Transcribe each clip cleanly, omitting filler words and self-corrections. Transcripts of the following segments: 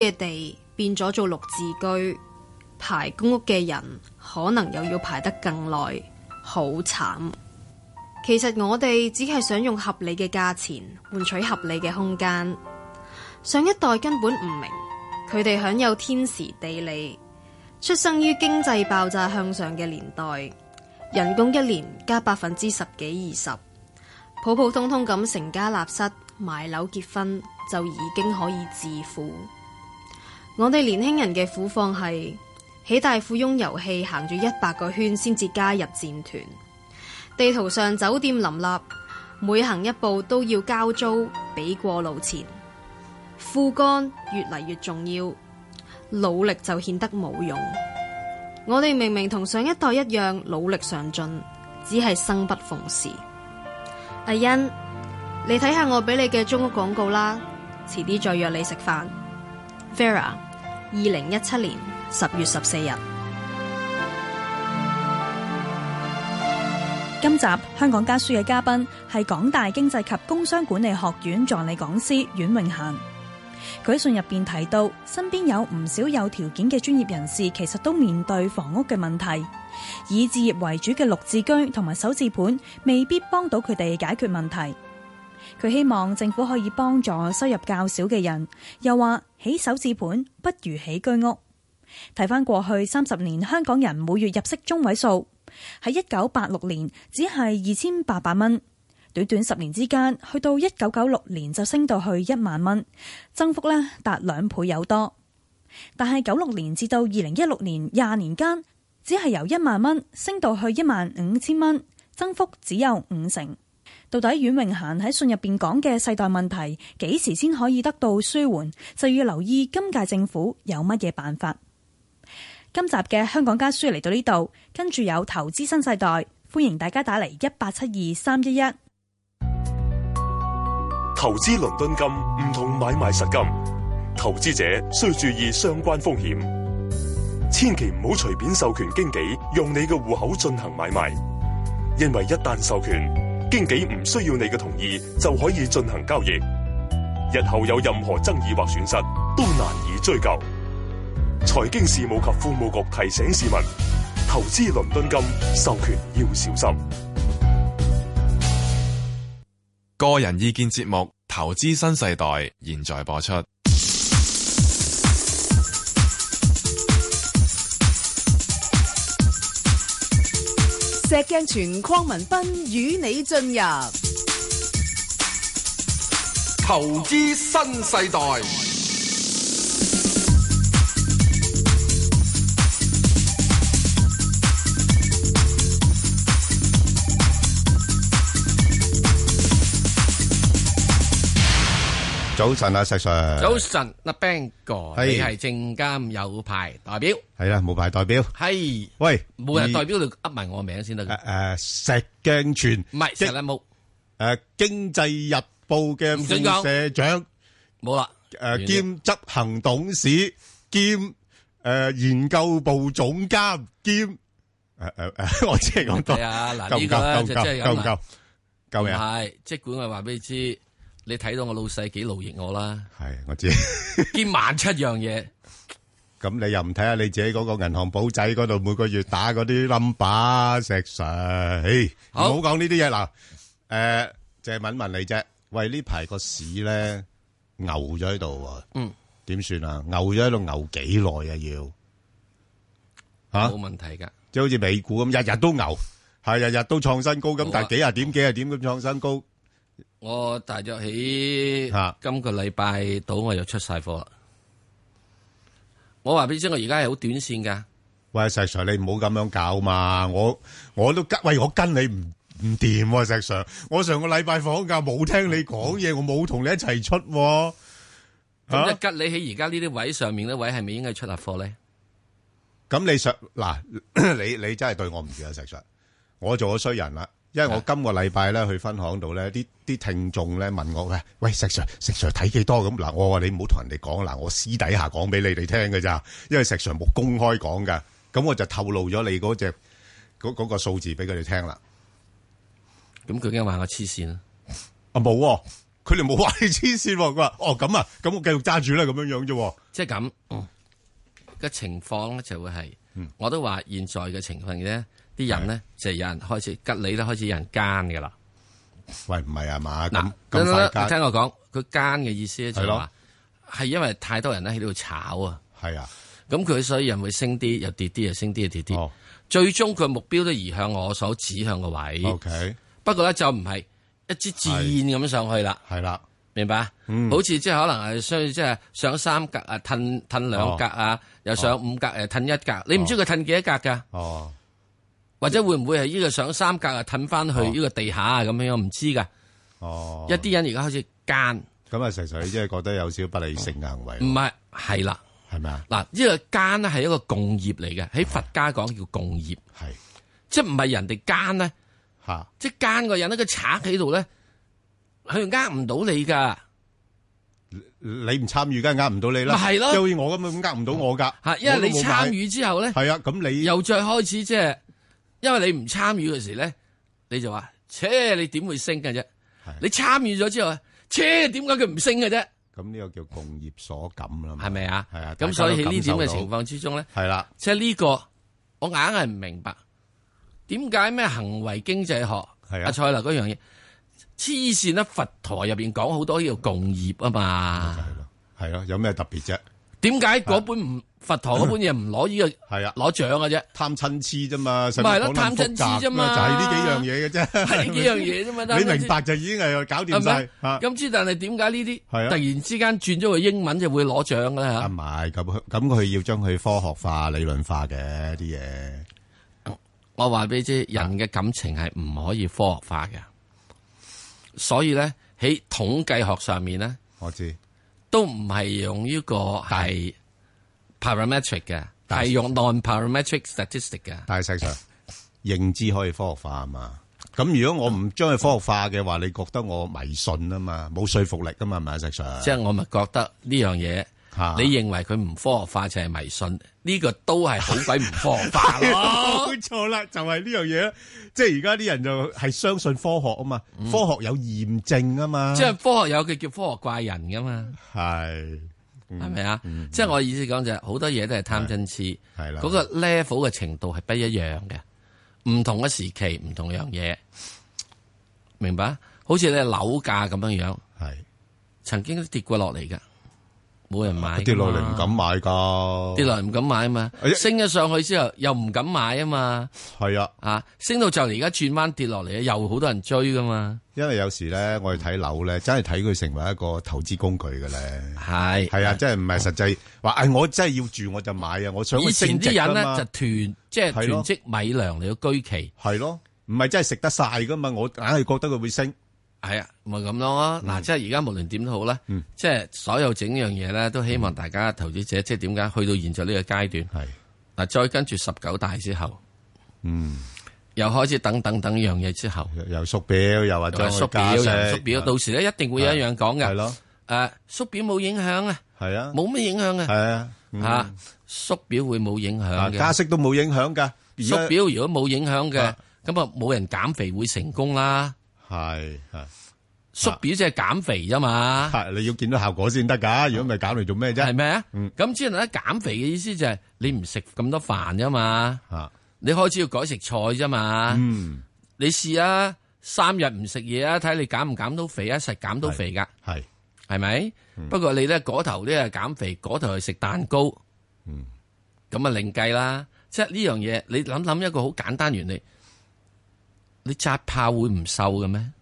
嘅地變咗做綠置居，排公屋嘅人可能又要排得更耐，好慘。其實我哋只係想用合理嘅價錢換取合理嘅空間。上一代根本唔明，佢哋享有天時地利，出生於經濟爆炸向上嘅年代，人工一年加10%幾20%，普普通通咁成家立室買樓結婚就已經可以致富。我哋年輕人嘅苦況係喺大富翁遊戲行咗100個圈先至加入戰團，地圖上酒店林立，每行一步都要交租俾過路錢。副幹越嚟越重要，努力就顯得冇用。我哋明明同上一代一樣努力上進，只係生不逢時。阿欣，你睇下我俾你嘅租屋廣告啦，遲啲再約你食飯。Vera， 2017年10月14日。 今集香港家書嘅嘉賓係港大經濟及工商管理學院助理講師阮穎嫻。佢喺信入邊提到，身邊有唔少有條件嘅專業人士，其實都面對房屋嘅問題，以置業為主嘅綠置居同埋首置盤未必幫到佢哋解決問題。佢希望政府可以幫助收入較少嘅人，又話起首置盤不如起居屋。睇翻過去30年香港人每月入息中位數，喺1986年只係2800蚊，短短10年之間，去到1996年就升到去1萬蚊，增幅呢達2倍有多。但係96年至到2016年20年間，只係由1萬蚊升到去15000蚊，增幅只有50%。到底阮穎嫻喺信入邊講嘅世代問題幾時先可以得到舒緩，就要留意今屆政府有乜嘢辦法。今集嘅香港家書嚟到呢度，跟住有投資新世代，歡迎大家打嚟1872-311。 投資倫敦金唔同買賣實金，投資者需注意相關風險，千祈唔好隨便授權經紀用你嘅戶口進行買賣，因為一旦授權，經紀唔需要你嘅同意就可以進行交易，日後有任何爭議或損失都難以追究。財經事務及庫務局提醒市民，投資倫敦金授權要小心。 個人意見節目《投資新世代》現在播出。 石鏡泉鄺民彬與你進入投資新世代。 早晨啊，石 Sir。 早晨，阿 Bang 哥， 係你係證監有牌代表？ 係啦，無牌代表。 係， 喂， 冇人代表你噏埋我名先得嘅。 石鏡泉唔係石禮木。 經濟日報嘅副社長， 冇啦。 兼執行董事兼研究部總監兼我只係講多。 係啊，嗱呢個咧就真係咁夠未啊？ 係，即管我話俾你知。你睇到我老細幾勞役我啦， 係我知， 兼17000樣嘢。 咁你又唔睇下你自己嗰個銀行簿仔嗰度每個月打嗰啲 number， 石 Sir， 唔好講呢啲嘢嗱。淨係問你啫，喂呢排個市咧牛咗喺度，點算啊？牛咗喺度牛幾耐啊？要冇問題噶， 即係好似美股咁，日日都牛，係日日都創新高咁，但係幾廿點咁創新高。 我大約喺今個禮拜到我又出晒貨啦。我話俾你知，我而家係好短線噶。 喂，石 Sir， 你唔好咁樣搞嘛！我都喂，我跟你唔掂喎，石 Sir。我上個禮拜放假冇聽你講嘢，我冇同你一齊出。 咁即吉你喺而家呢啲位上面呢位係咪應該出下貨咧？ 咁你嗱，你真係對我唔住啊，石 Sir。我做咗衰人啦。因為我今個禮拜咧去分行度咧，啲聽眾咧問我喂石 Sir 睇幾多咁嗱？我話你唔好同人哋講嗱，我私底下講俾你哋聽嘅咋，因為石 Sir 冇公開講噶，咁我就透露咗你嗰個數字俾佢哋聽啦。 咁佢已經話我黐線啦。 冇， 佢哋冇話你黐線喎，佢話哦咁啊，咁我繼續揸住啦，咁樣樣啫。 即係咁嘅情況咧，就會係，我都話現在嘅情況咧，啲人咧就有人開始吉你咧，開始有人奸㗎啦。 喂，唔係啊嘛？ 嗱， 咁快聽我講，佢奸嘅意思咧就係話，係因為太多人咧喺度炒啊。 係啊， 咁佢所以人會升啲又跌啲，又升啲又跌啲。最終佢目標都移向我所指向個位。 OK， 不過咧就唔係一支箭咁上去啦。 係啦。 明白？好似即係可能係需即係上3格啊，褪2格啊，又上5格誒，褪1格。你唔知佢褪幾多格噶？哦，或者會唔會係呢個上3格啊，褪翻去呢個地下啊咁樣？唔知噶。哦，一啲人而家開始奸。 咁啊，實際即係覺得有少少不理性嘅行為。 唔係，係啦， 係咪啊？ 嗱，呢個奸咧係一個共業嚟嘅，喺佛家講叫共業，係即係唔係人哋奸咧吓，即係奸個人咧，個賊喺度咧。佢呃唔到你噶， 你唔參與梗係呃唔到你啦。 咪係咯， 好似我咁樣呃唔到我噶。 吓，因為你參與之後咧， 係啊，咁你又再開始即係，因為你唔參與嘅時咧，你就話，切，你點會升嘅啫？你參與咗之後，切，點解佢唔升嘅啫？ 咁呢個叫共業所感啦， 係咪啊？ 係啊。 咁所以喺呢點嘅情況之中咧， 係啦， 即係呢個我硬係唔明白，點解咩行為經濟學阿蔡立嗰樣嘢？黐線啦！佛陀入邊講好多呢個共業啊嘛， 係咯，有咩特別啫？ 點解嗰本佛陀嗰本嘢唔攞呢個係啊攞獎嘅啫？貪親黐啫嘛， 咪係咯，貪親黐啫嘛， 就係呢幾樣嘢嘅啫， 係呢幾樣嘢啫嘛。 你明白就已經係搞掂晒。 咁之但係點解呢啲突然之間轉咗個英文就會攞獎嘅咧？吓， 唔係咁佢要將佢科學化、理論化嘅啲嘢。 我話俾你知，人嘅感情係唔可以科學化嘅。所以咧喺統計學上面咧， 我知都唔係用呢個係 parametric 嘅，係用 non-parametric statistic 嘅。 但係實際上認知可以科學化啊嘛。咁如果我唔將佢科學化嘅話，你覺得我迷信啊嘛，冇說服力噶嘛，係咪實際上？ 即係我咪覺得呢樣嘢，你認為佢唔科學化就係迷信，呢個都係好鬼唔科學化咯。 冇錯啦，就係呢樣嘢。即係而家啲人就係相信科學啊嘛，科學有驗證啊嘛。 即係科學有嘅叫科學怪人噶嘛。 係咪啊？即係我意思講就係好多嘢都係貪嗔痴， 係啦。 嗰個 level 嘅程度係不一樣嘅，唔同嘅時期唔同樣嘢，明白？好似你樓價咁樣樣，係曾經都跌過落嚟噶。冇人買， 跌落嚟唔敢買噶， 跌落嚟唔敢買啊嘛，升咗上去之後又唔敢買啊嘛， 係啊， 升到就嚟而家轉彎跌落嚟，又好多人追噶嘛。 因為有時咧，我哋睇樓咧，真係睇佢成為一個投資工具嘅咧， 係啊，即係唔係實際話，我真係要住我就買啊，我想以前啲人咧就即係囤積米糧嚟到居奇， 係咯，唔係真係食得晒噶嘛，我硬係覺得佢會升。 係啊，咪咁咯。嗱，即係而家無論點都好啦，即係所有整樣嘢咧，都希望大家投資者，即係點解去到現在呢個階段，係嗱，再跟住19大之後，又開始等樣嘢之後， 又縮表，又話再縮表，又縮表，到時咧一定會有一樣講嘅，係咯，縮表冇影響啊，係啊，冇咩影響啊， 係啊， 縮表會冇影響嘅， 加息都冇影響噶， 縮表如果冇影響嘅，咁啊冇人減肥會成功啦。 係縮表即係減肥啫嘛， 你要見到效果先得噶，如果唔係減嚟做咩啫？係咪啊？咁之後咧減肥嘅意思就係你唔食咁多飯啫嘛，你開始要改食菜啫嘛，你試下3日唔食嘢啊，睇你減唔減到肥啊？實減到肥噶，係咪？不過你咧嗰頭咧係減肥，嗰頭係食蛋糕，咁啊另計啦。即係呢樣嘢，你諗一個好簡單原理。你紮炮會唔瘦嘅咩？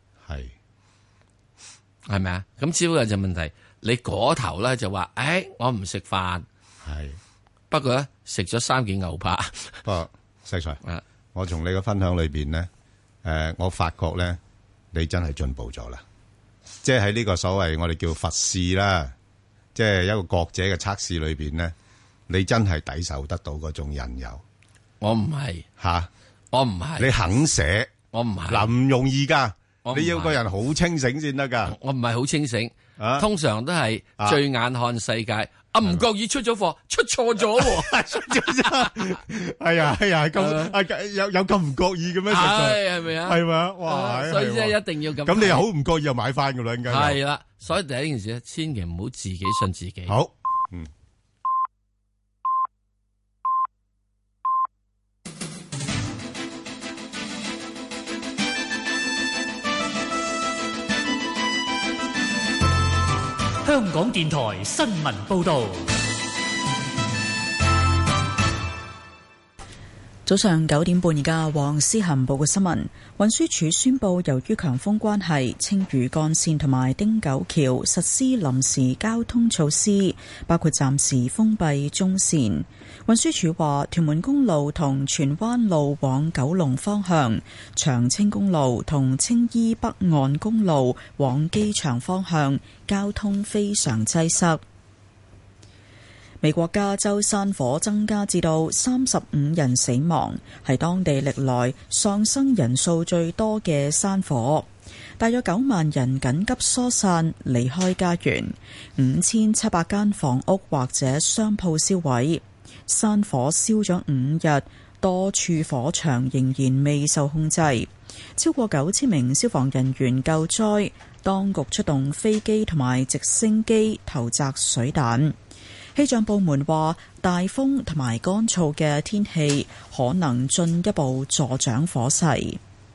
係咪啊？咁只不過就問題，你嗰頭咧就話，我唔食飯，不過咧食咗3件牛扒。 不過石 Sir，我從你嘅分享裏邊咧，我發覺咧，你真係進步咗啦。即係喺呢個所謂我哋叫佛試啦，即係一個國者嘅測試裏邊咧，你真係抵受得到嗰種引誘。 我唔係我唔係， 你肯寫。 我唔係嗱，唔容易噶，你要個人好清醒先得噶。 我唔係好清醒，通常都係醉眼看世界， 唔覺意出咗貨，出錯咗喎， 出咗係啊，咁有咁唔覺意嘅咩？ 係咪啊？ 係咪？哇！ 所以即係一定要咁。 咁你又好唔覺意又買翻噶啦，應該係啦。所以第一件事咧，千祈唔好自己信自己。 好， 香港電台新聞報道。 早上9點半，而家黃思涵報嘅新聞。運輸署宣布，由於強風關係，青嶼幹線同埋汀九橋實施臨時交通措施，包括暫時封閉中線。運輸署話，屯門公路同荃灣路往九龍方向、長青公路同青衣北岸公路往機場方向交通非常擠塞。美國加州山火增加至到35人死亡，係當地歷來喪生人數最多嘅山火。大約9萬人緊急疏散離開家園，5700間房屋或者商鋪燒毀。山火燒咗5日，多處火場仍然未受控制，超過9000名消防人員救災，當局出動飛機同埋直升機投擲水彈。氣象部門話，大風同埋乾燥嘅天氣可能進一步助長火勢。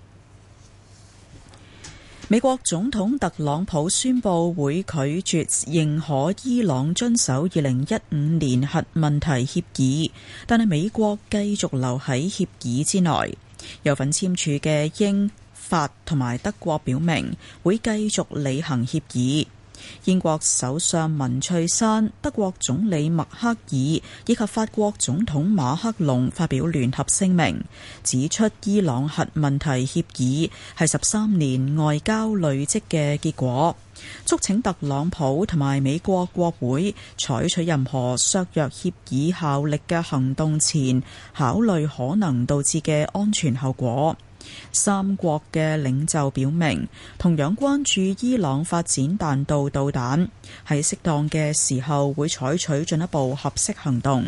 美國總統特朗普宣布會拒絕認可伊朗遵守2015年核問題協議，但係美國繼續留喺協議之內。有份簽署嘅英、法同埋德國表明會繼續履行協議。英國首相文翠珊、德國總理默克爾以及法國總統馬克龍發表聯合聲明，指出伊朗核問題協議係13年外交累積嘅結果，促請特朗普同埋美國國會採取任何削弱協議效力嘅行動前，考慮可能導致嘅安全後果。三國嘅領袖表明，同樣關注伊朗發展彈道導彈，喺適當嘅時候會採取進一步合適行動。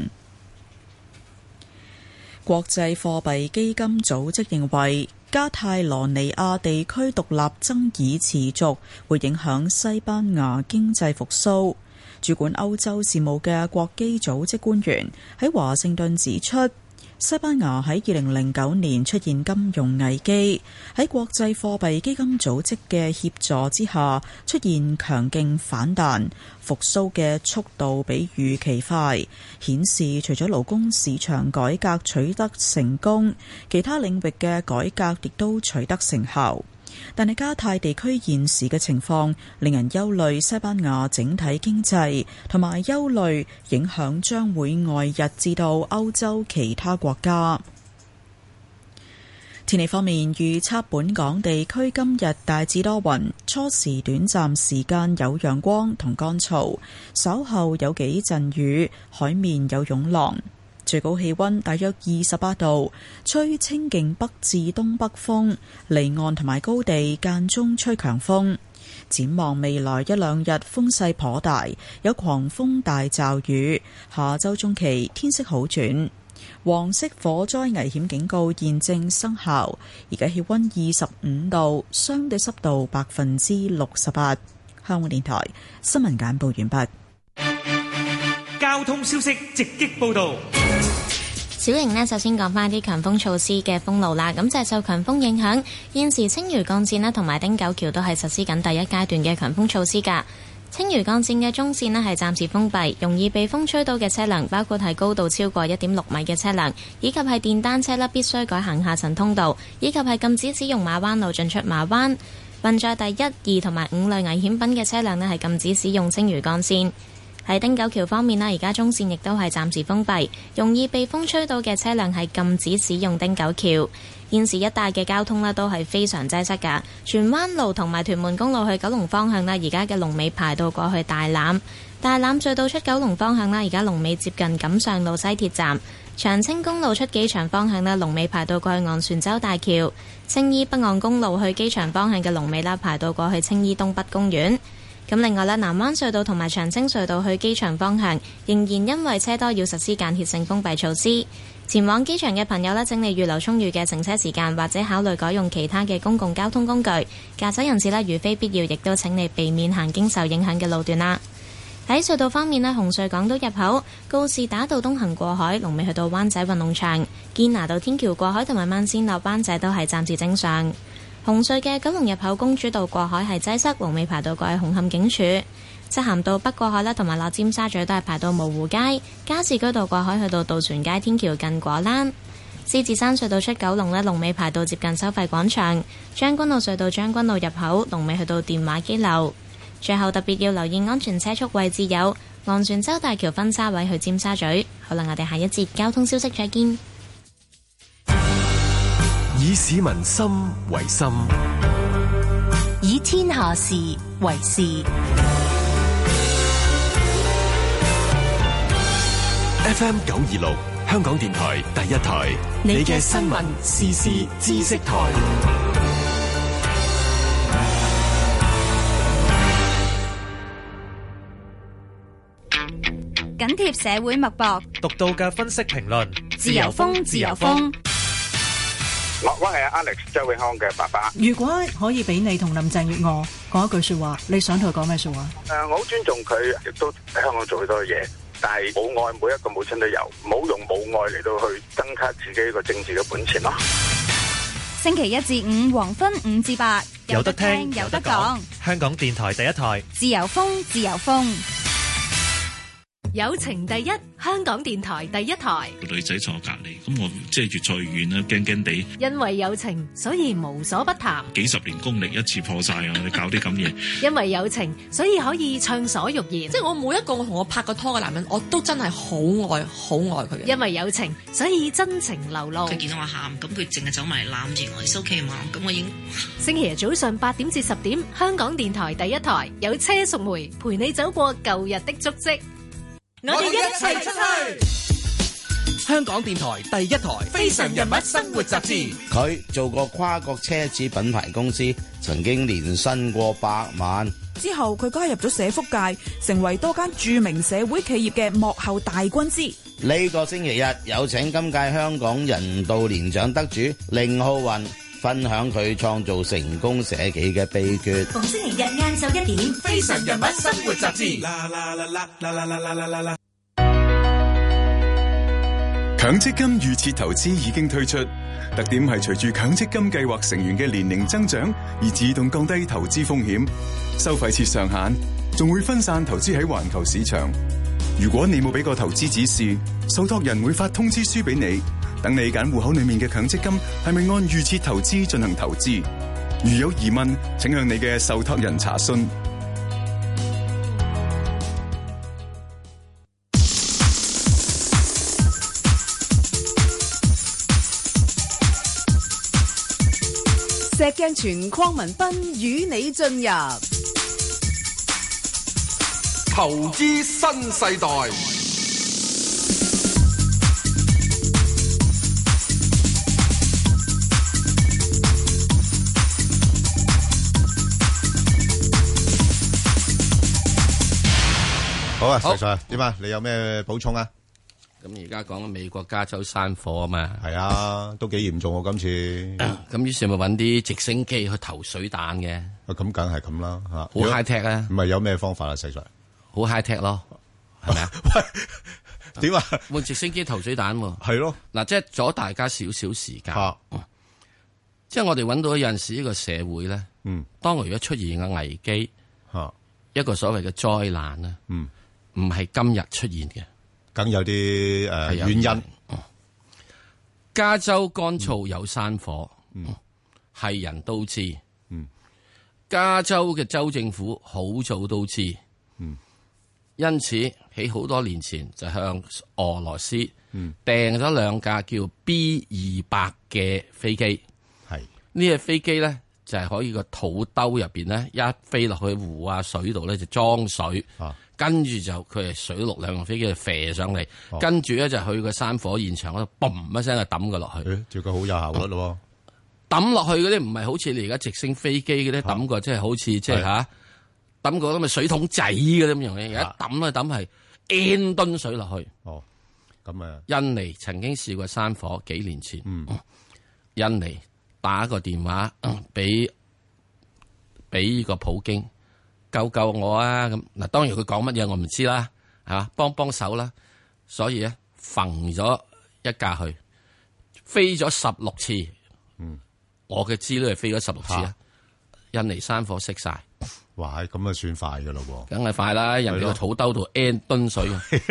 國際貨幣基金組織認為，加泰羅尼亞地區獨立爭議持續，會影響西班牙經濟復甦。主管歐洲事務嘅國基組織官員喺華盛頓指出，西班牙喺2009年出現金融危機，喺國際貨幣基金組織嘅協助之下出現強勁反彈，復甦嘅速度比預期快，顯示除咗勞工市場改革取得成功，其他領域嘅改革亦都取得成效。但係加泰地區現時嘅情況令人憂慮，西班牙整體經濟同埋憂慮影響將會外溢至到歐洲其他國家。天氣方面，預測本港地區今日大致多雲，初時短暫時間有陽光同乾燥，稍後有幾陣雨，海面有湧浪。最高氣溫大約28度，吹清勁北至東北風，離岸同埋高地間中吹強風。展望未來一兩日風勢頗大，有狂風大驟雨。下周中期天色好轉。黃色火災危險警告現正生效。而家氣溫25度，相對濕度68%。香港電台新聞簡報完畢。 交通消息直擊報道。 小瑩呢，首先講翻啲強風措施嘅封路啦。咁就係受強風影響，現時青嶼幹線啦同埋汀九橋都係實施緊第一階段嘅強風措施㗎。青嶼幹線嘅中線呢係暫時封閉，容易被風吹到嘅車輛包括係高度超過1.6米嘅車輛，以及係電單車啦必須改行下層通道，以及係禁止使用馬灣路進出馬灣。運載第1、2同埋5類危險品嘅車輛呢係禁止使用青嶼幹線。喺汀九橋方面啦，而家中線亦都係暫時封閉，容易被風吹到嘅車輛係禁止使用汀九橋。現時一帶嘅交通呢都係非常擠塞㗎。荃灣路同埋屯門公路去九龍方向啦，而家嘅龍尾排到過去大欖。大欖隧道出九龍方向啦，而家龍尾接近錦上路西鐵站。長青公路出機場方向啦，龍尾排到過去昂船洲大橋。青衣北岸公路去機場方向嘅龍尾啦，排到過去青衣東北公園。 咁另外咧，南灣隧道同埋長青隧道去機場方向仍然因為車多要實施間歇性封閉措施。前往機場嘅朋友呢，請你預留充裕嘅乘車時間，或者考慮改用其他嘅公共交通工具。駕駛人士呢，如非必要，亦都請你避免行經受影響嘅路段啦。喺隧道方面呢，紅隧港島入口告士打道東行過海，龍尾去到灣仔運動場；堅拿道天橋過海同埋慢線落灣仔都係暫時正常。紅隧嘅九龍入口公主道過海係擠塞，龍尾排到過去紅磡警署。漆咸道北過海啦，同埋落尖沙咀都係排到蕪湖街。加士居道過海去到渡船街天橋近果欄。獅子山隧道出九龍呢，龍尾排到接近收費廣場。將軍澳隧道將軍澳入口龍尾去到電話機樓。最後特別要留意安全車速位置有昂船洲大橋分叉位去尖沙咀。好啦，我哋下一節交通消息再見。 以市民心為心， 以天下事為事。 FM 926香港電台第一台，你嘅新聞時事知識台。 緊貼社會脈搏， 獨到嘅分析評論， 自由風，自由風。 我係 Alex 周永康嘅爸爸。 如果可以俾你同林鄭月娥講一句說話，你想同佢講咩說話？ 我好尊重佢，亦都喺香港做好多嘢，但係母愛每一個母親都有，唔好用母愛嚟到去增加自己一個政治嘅本錢咯。 星期一至五黃昏5至8， 有得聽， 有得講。 香港電台第一台， 自由風，自由風。 友情第一，香港電台第一台。 個女仔坐我隔離，咁我即係越坐越遠啦，驚驚地。 因為友情，所以無所不談。 幾十年功力一次破晒啊！你搞啲咁嘢。 因為友情，所以可以暢所欲言。 即係我每一個我同我拍過拖嘅男人，我都真係好愛佢嘅。 因為友情，所以真情流露。 佢見到我喊，咁佢淨係走埋嚟攬住我，it's okay嘛？咁我已經。 星期日早上8點至10點，香港電台第一台有車淑梅陪你走過舊日的足跡。我哋一齊出去！ 香港電台第一台《非常人物生活雜誌》。 佢做過跨國奢侈品牌公司，曾經年薪過100萬。 之後佢加入咗社福界，成為多間著名社會企業嘅幕後大軍師。 呢個星期日有請今屆香港人道年獎得主凌浩雲分享佢創造成功社企嘅秘訣。 逢星期日晏晝1點，《非常人物生活雜誌》。 強積金預設投資已經推出，特點係隨住強積金計劃成員嘅年齡增長而自動降低投資風險，收費設上限，仲會分散投資喺環球市場。如果你冇俾個投資指示，受託人會發通知書俾你，等你揀戶口裏面嘅強積金係咪按預設投資進行投資。如有疑問，請向你嘅受託人查詢。 石鏡泉鄺民彬與你進入投資新世代。 好啊，石 Sir 點啊？你有咩補充啊？ 咁而家講緊美國加州山火啊嘛， 係啊，都幾嚴重喎今次。 咁於是咪揾啲直升機去投水彈嘅。 咁梗係咁啦嚇， 好 high tech 啊！ 唔係有咩方法啊？石 Sir， 好 high tech 咯，係咪啊？ 點啊？ 換直升機投水彈喎。 係咯。 嗱，即係阻大家少少時間。即係我哋揾到有陣時呢個社會咧，當如果出現嘅危機，一個所謂嘅災難咧，唔係今日出現嘅。梗有啲原因。加州乾燥有山火，係人都知。加州嘅州政府好早都知。因此喺好多年前就向俄羅斯訂咗2架叫 B-200嘅飛機。係呢隻飛機咧就係可以個肚兜入邊咧一飛落去湖啊水度咧就裝水。跟住就佢係水陸兩用飛機就射上嚟，跟住咧就去個山火現場嗰度，嘣一聲就抌佢落去。照佢好有效率咯。抌落去嗰啲唔係好似你而家直升飛機嗰啲抌過，即係好似即係抌抌個咁嘅水桶仔嘅咁樣嘢，一抌咧抌係 N 噸水落去。 哦，咁啊， 印尼曾經試過山火，幾年前，印尼打個電話俾個普京，救救我啊！咁嗱，當然佢講乜嘢我唔知啦，係嘛，幫手啦。所以咧，揈咗一架去，飛咗16次。我嘅資料係飛咗16次啊！印尼山火熄晒。 哇，咁啊算快噶咯喎！ 梗係快啦，人哋個土兜度 N 噸水。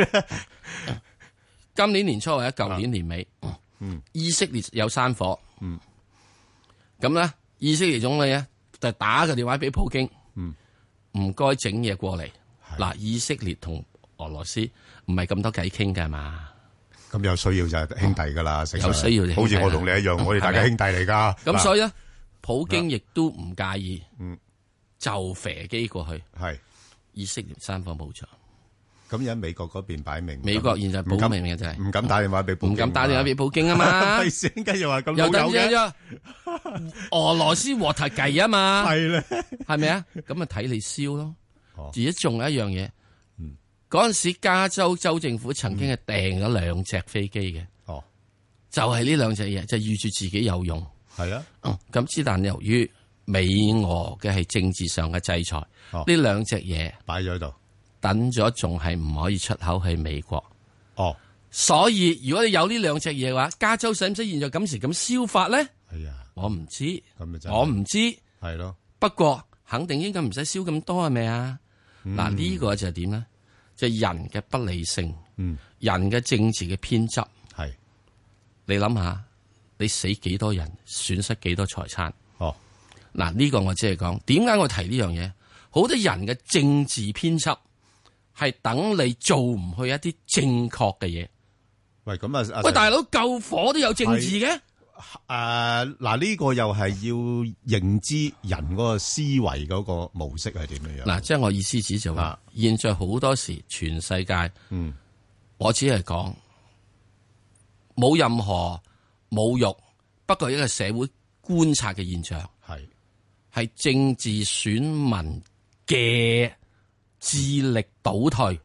今年年初或者舊年年尾，以色列有山火，咁咧以色列總理咧就打個電話俾普京，唔該整嘢過嚟。嗱，以色列同俄羅斯唔係咁多偈傾㗎嘛， 咁有需要就係兄弟噶啦， 有需要就好似我同你一樣，我哋大家兄弟嚟噶。 咁所以咧，普京亦都唔介意。就飛機過去，係以色列山火冇咗。 咁而家美國嗰邊擺明， 美國現在保明嘅就係唔敢打電話俾普京， 唔敢打電話俾普京啊嘛。 係先，跟住話咁又老友嘅， 俄羅斯和台計啊嘛， 係咧， 係咪啊？咁咪睇你燒咯。而且仲有一樣嘢，嗰陣時加州州政府曾經係訂咗2隻飛機嘅，就係呢2隻嘢，就預住自己有用。 係啊， 咁之但由於美俄嘅係政治上嘅制裁，呢2隻嘢擺咗喺度， 等咗仲係唔可以出口去美國。所以如果你有呢2隻嘢嘅話，加州使唔使現在咁時咁燒法咧？ 係啊， 我唔知， 咁我唔知， 係咯。 不過肯定應該唔使燒咁多係咪啊？嗱，呢個就係點咧？就係人嘅不理性，人嘅政治嘅偏執。 係你諗下，你死幾多人，損失幾多財產？嗱，呢個我只係講，點解我提呢樣嘢？好多人嘅政治編輯係等你做唔去一啲正確嘅嘢。 喂，咁啊， 喂，大佬救火都有政治嘅？ 嗱，呢個又係要認知人嗰個思維嗰個模式係點樣樣。 嗱，即係我意思指就話，現在好多時全世界，我只係講冇任何侮辱，不過一個社會觀察嘅現象。係政治選民嘅智力倒退。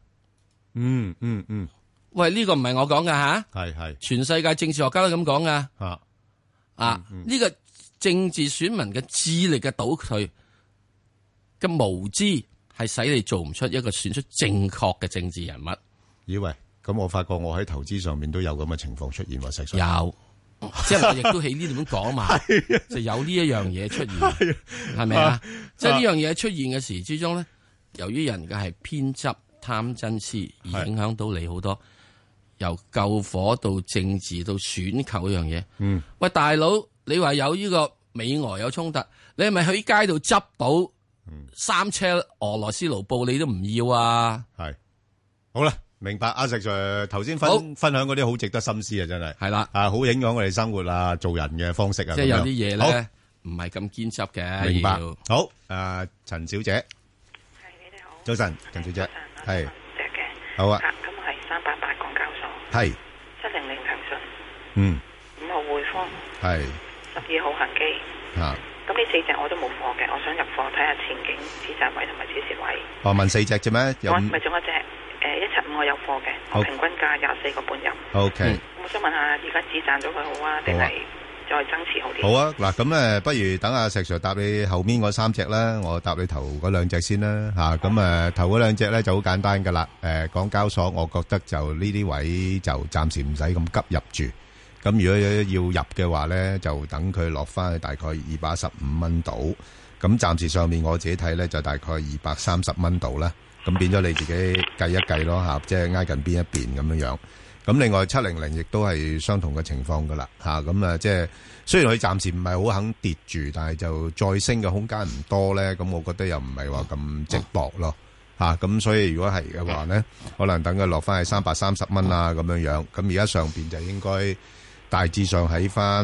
喂，呢個唔係我講噶吓， 係全世界政治學家都咁講噶。呢個政治選民嘅智力嘅倒退嘅無知，係使你做唔出一個選出正確嘅政治人物。 咦喂，咁我發覺我喺投資上面都有咁嘅情況出現喎，實有。即係我亦都喺呢度咁講嘛，就有呢一樣嘢出現，係咪啊？即係呢樣嘢出現嘅時之中咧，由於人嘅係偏執、貪嗔癡，而影響到你好多，由救火到政治到選購呢樣嘢。喂，大佬，你話有呢個美俄有衝突，你係咪喺街度執到3車俄羅斯盧布，你都唔要啊？ 係，好啦。明白，阿石 Sir 頭先分享嗰啲好值得深思啊，真係係啦，好影響我哋生活啊，做人嘅方式啊， 即係有啲嘢咧，唔係咁堅執嘅。 明白，好，陳小姐， 係你哋好， 早晨，陳小姐，係， 隻嘅， 好啊， 咁係388港交所， 係 700騰訊，5號匯豐，係12號恒基，咁呢4隻我都冇貨嘅，我想入貨睇下前景、止賺位同埋止蝕位。 問4隻啫咩？ 唔係仲有一隻。175我有貨嘅，我平均價24個半入。 OK， 我想問下，而家止賺咗佢好啊，定係再增持好啲？ 好啊，嗱咁不如等阿石 Sir 答你後面嗰3隻啦，我答你頭嗰2隻先啦嚇。咁頭嗰2隻咧就好簡單噶啦。港交所，我覺得就呢啲位就暫時唔使咁急入住。咁如果要入嘅話咧，就等佢落翻去大概215蚊度。咁暫時上面我自己睇咧就大概230蚊度啦。咁變咗你自己計一計咯嚇，即係挨近邊一邊咁樣樣。咁另外700亦都係相同嘅情況噶啦嚇。咁即係雖然佢暫時唔係好肯跌住，但係就再升嘅空間唔多咧。咁我覺得又唔係話咁值博咯嚇。咁所以如果係嘅話咧，可能等佢落翻去330蚊啊咁樣樣。咁而家上邊就應該大致上喺翻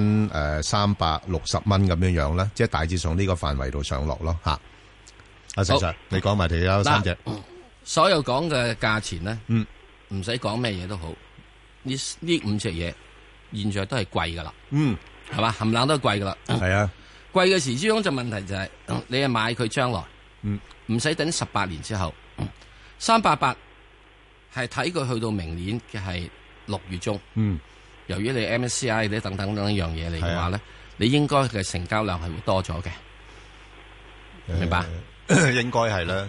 360蚊咁樣樣啦，即係大致上呢個範圍度上落咯嚇。阿石 Sir，你講埋其他3隻。 所有講嘅價錢咧，唔使講咩嘢都好，呢5隻嘢現在都係貴噶啦，係嘛，冚唪唥都係貴噶啦。係啊，貴嘅時之中就問題就係你係買佢將來， 唔使等18年之後，388係睇佢去到明年嘅係6月中。由於你 MSCI 啲等等一樣嘢嚟嘅話咧，你應該嘅成交量係會多咗嘅，明白？ 應該係啦。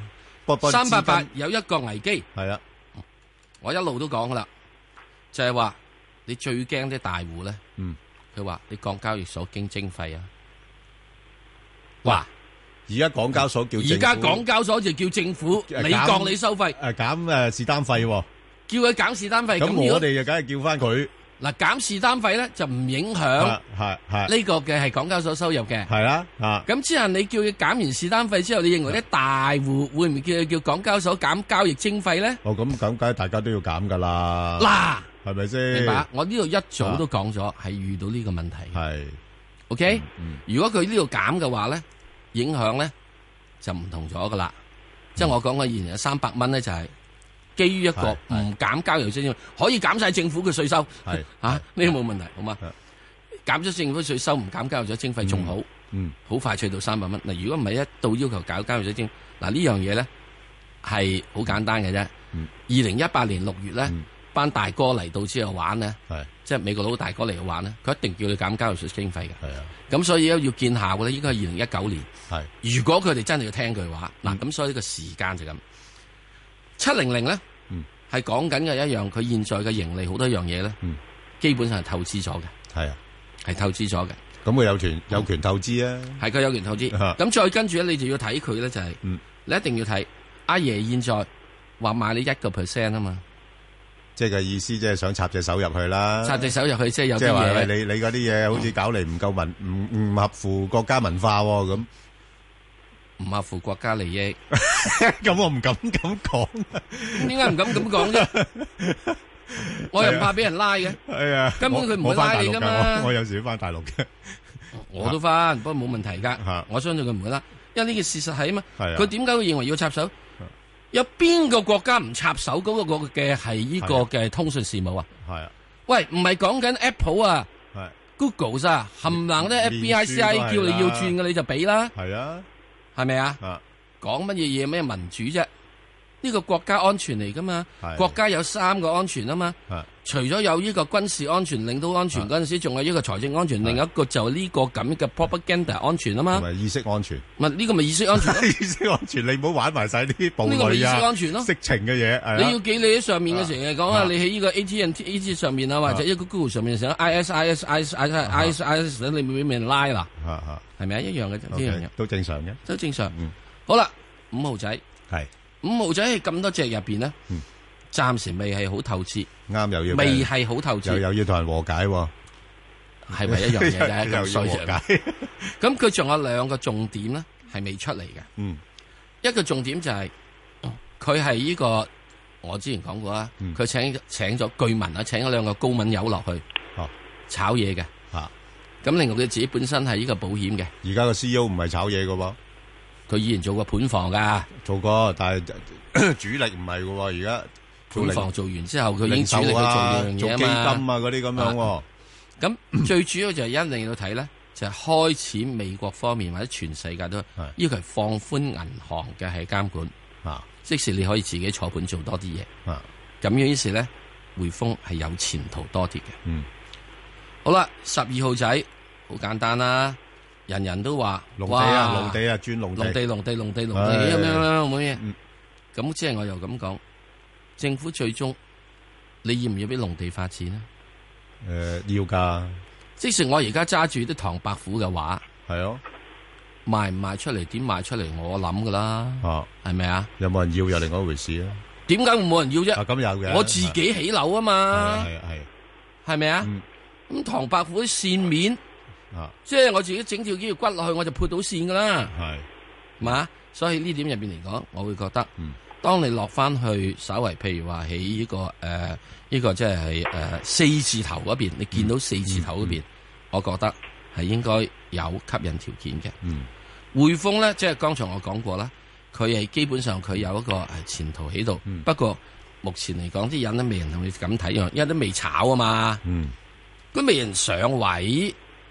388有一個危機， 係啊， 我一路都講噶啦，就係話你最驚啲大戶咧，佢話你降交易所經徵費啊，哇！ 而家港交所叫而家港交所就叫政府你降你收費， 減是單費， 叫佢減是單費。 咁我哋就梗係叫翻佢。 嗱，減是單費咧就唔影響呢個嘅係港交所收入嘅。 係啦， 咁之後你叫佢減完是單費之後，你認為啲大戶會唔會叫港交所減交易徵費咧？ 哦，咁梗係大家都要減噶啦。 嗱， 係咪先？ 明白？我呢度一早都講咗，係遇到呢個問題。 係 ，OK。如果佢呢度減嘅話咧，影響咧就唔同咗噶啦。即係我講嘅以前有300蚊咧，就係基於一個唔減交易徵費，可以減晒政府嘅稅收。係呢個冇問題，好嘛？減咗政府稅收，唔減交易徵費仲好。好快脆到300蚊。嗱，如果唔係一到要求搞交易徵，嗱呢樣嘢咧係好簡單嘅啫。2018年6月咧，班大哥嚟到之後玩咧，即係美國佬大哥嚟玩咧，佢一定叫你減交易稅徵費嘅。係啊。咁所以要見效嘅咧，應該係2019年。係。如果佢哋真係要聽佢話，嗱咁所以呢個時間就咁。700咧，係講緊嘅一樣，佢現在嘅盈利好多樣嘢咧，基本上係透支咗嘅。係啊，係透支咗嘅。咁佢有權透支啊？係佢有權透支。咁再跟住咧，你就要睇佢咧，就係你一定要睇阿爺現在話買你1% 啊嘛。即係嘅意思，即係想插隻手入去啦。插隻手入去，即係有啲嘢。你嗰啲嘢好似搞嚟唔夠唔合乎國家文化咁。唔合乎國家利益，咁我唔敢咁講。點解唔敢咁講啫？我又唔怕俾人拉嘅。係啊，根本佢唔會拉你噶嘛。我有時都翻大陸嘅，我都翻，不過冇問題噶。我相信佢唔會拉，因為呢件事實係啊嘛。佢點解會認為要插手？有邊個國家唔插手嗰個嘅係呢個嘅通訊事務啊？係啊。喂，唔係講緊 Apple 啊，係 Google 啊，冚唪唥啲 FBICI 叫你要轉嘅你就俾啦。係啊。係咪啊？講乜嘢嘢咩民主啫？呢個國家安全嚟噶嘛？國家有3個安全啊嘛。除咗有呢個軍事安全、領土安全嗰陣時，仲有呢個財政安全，另一個就呢個咁嘅 propaganda 安全啊嘛。同埋意識安全。咪呢個咪意識安全咯？意識安全，你唔好玩埋晒啲暴力啊！呢個咪意識安全咯？色情嘅嘢。你要記你喺上面嘅時候講啊，你喺呢個 AT&T 上面啊，或者一個 Google 上面成 IS，你會俾人拉啦。係咪啊？一樣嘅，呢樣嘢都正常嘅，都正常。好啦，5號仔係5號仔係咁多隻入邊咧，暫時未係好透支，啱又要未係好透支，又要同人和解，係咪一樣嘢啫？咁衰嘅。咁佢仲有2個重點咧，係未出嚟嘅。一個重點就係佢係呢個，我之前講過啦，佢請咗據聞啊，請咗2個高敏友落去炒嘢嘅。咁另外佢自己本身係呢個保險嘅，而家個 CEO 唔係炒嘢嘅喎，佢以前做過盤房噶，做過，但係主力唔係嘅喎，而家盤房做完之後，佢已經主力去做呢樣嘢啊嘛，做基金啊嗰啲咁樣。咁最主要就係一定要睇咧，就係開始美國方面或者全世界都要求放寬銀行嘅係監管，即使你可以自己坐盤做多啲嘢，咁樣於是咧匯豐係有前途多啲嘅。好啦，12號仔好簡單啦，人人都話農地啊，農地啊，轉農地，農地咁樣冇嘢。咁即係我又咁講，政府最終你要唔要俾農地發展咧？要噶。即使我而家揸住啲唐伯虎嘅畫，係咯，賣唔賣出嚟？點賣出嚟？我諗噶啦，係咪啊？有冇人要又另外一回事啊？點解會冇人要啫？咁有嘅，我自己起樓啊嘛，係咪啊？咁唐伯虎啲線面，即係我自己整條肌肉骨落去，我就潑到線噶啦，係嘛？所以呢點入邊嚟講，我會覺得，當你落翻去稍為譬如話喺呢個呢個即係4字頭嗰邊，你見到4字頭嗰邊，我覺得係應該有吸引條件嘅。匯豐咧，即係剛才我講過啦，佢係基本上佢有一個係前途喺度，不過目前嚟講啲人都未人同你咁睇，因為都未炒啊嘛。佢未人上位，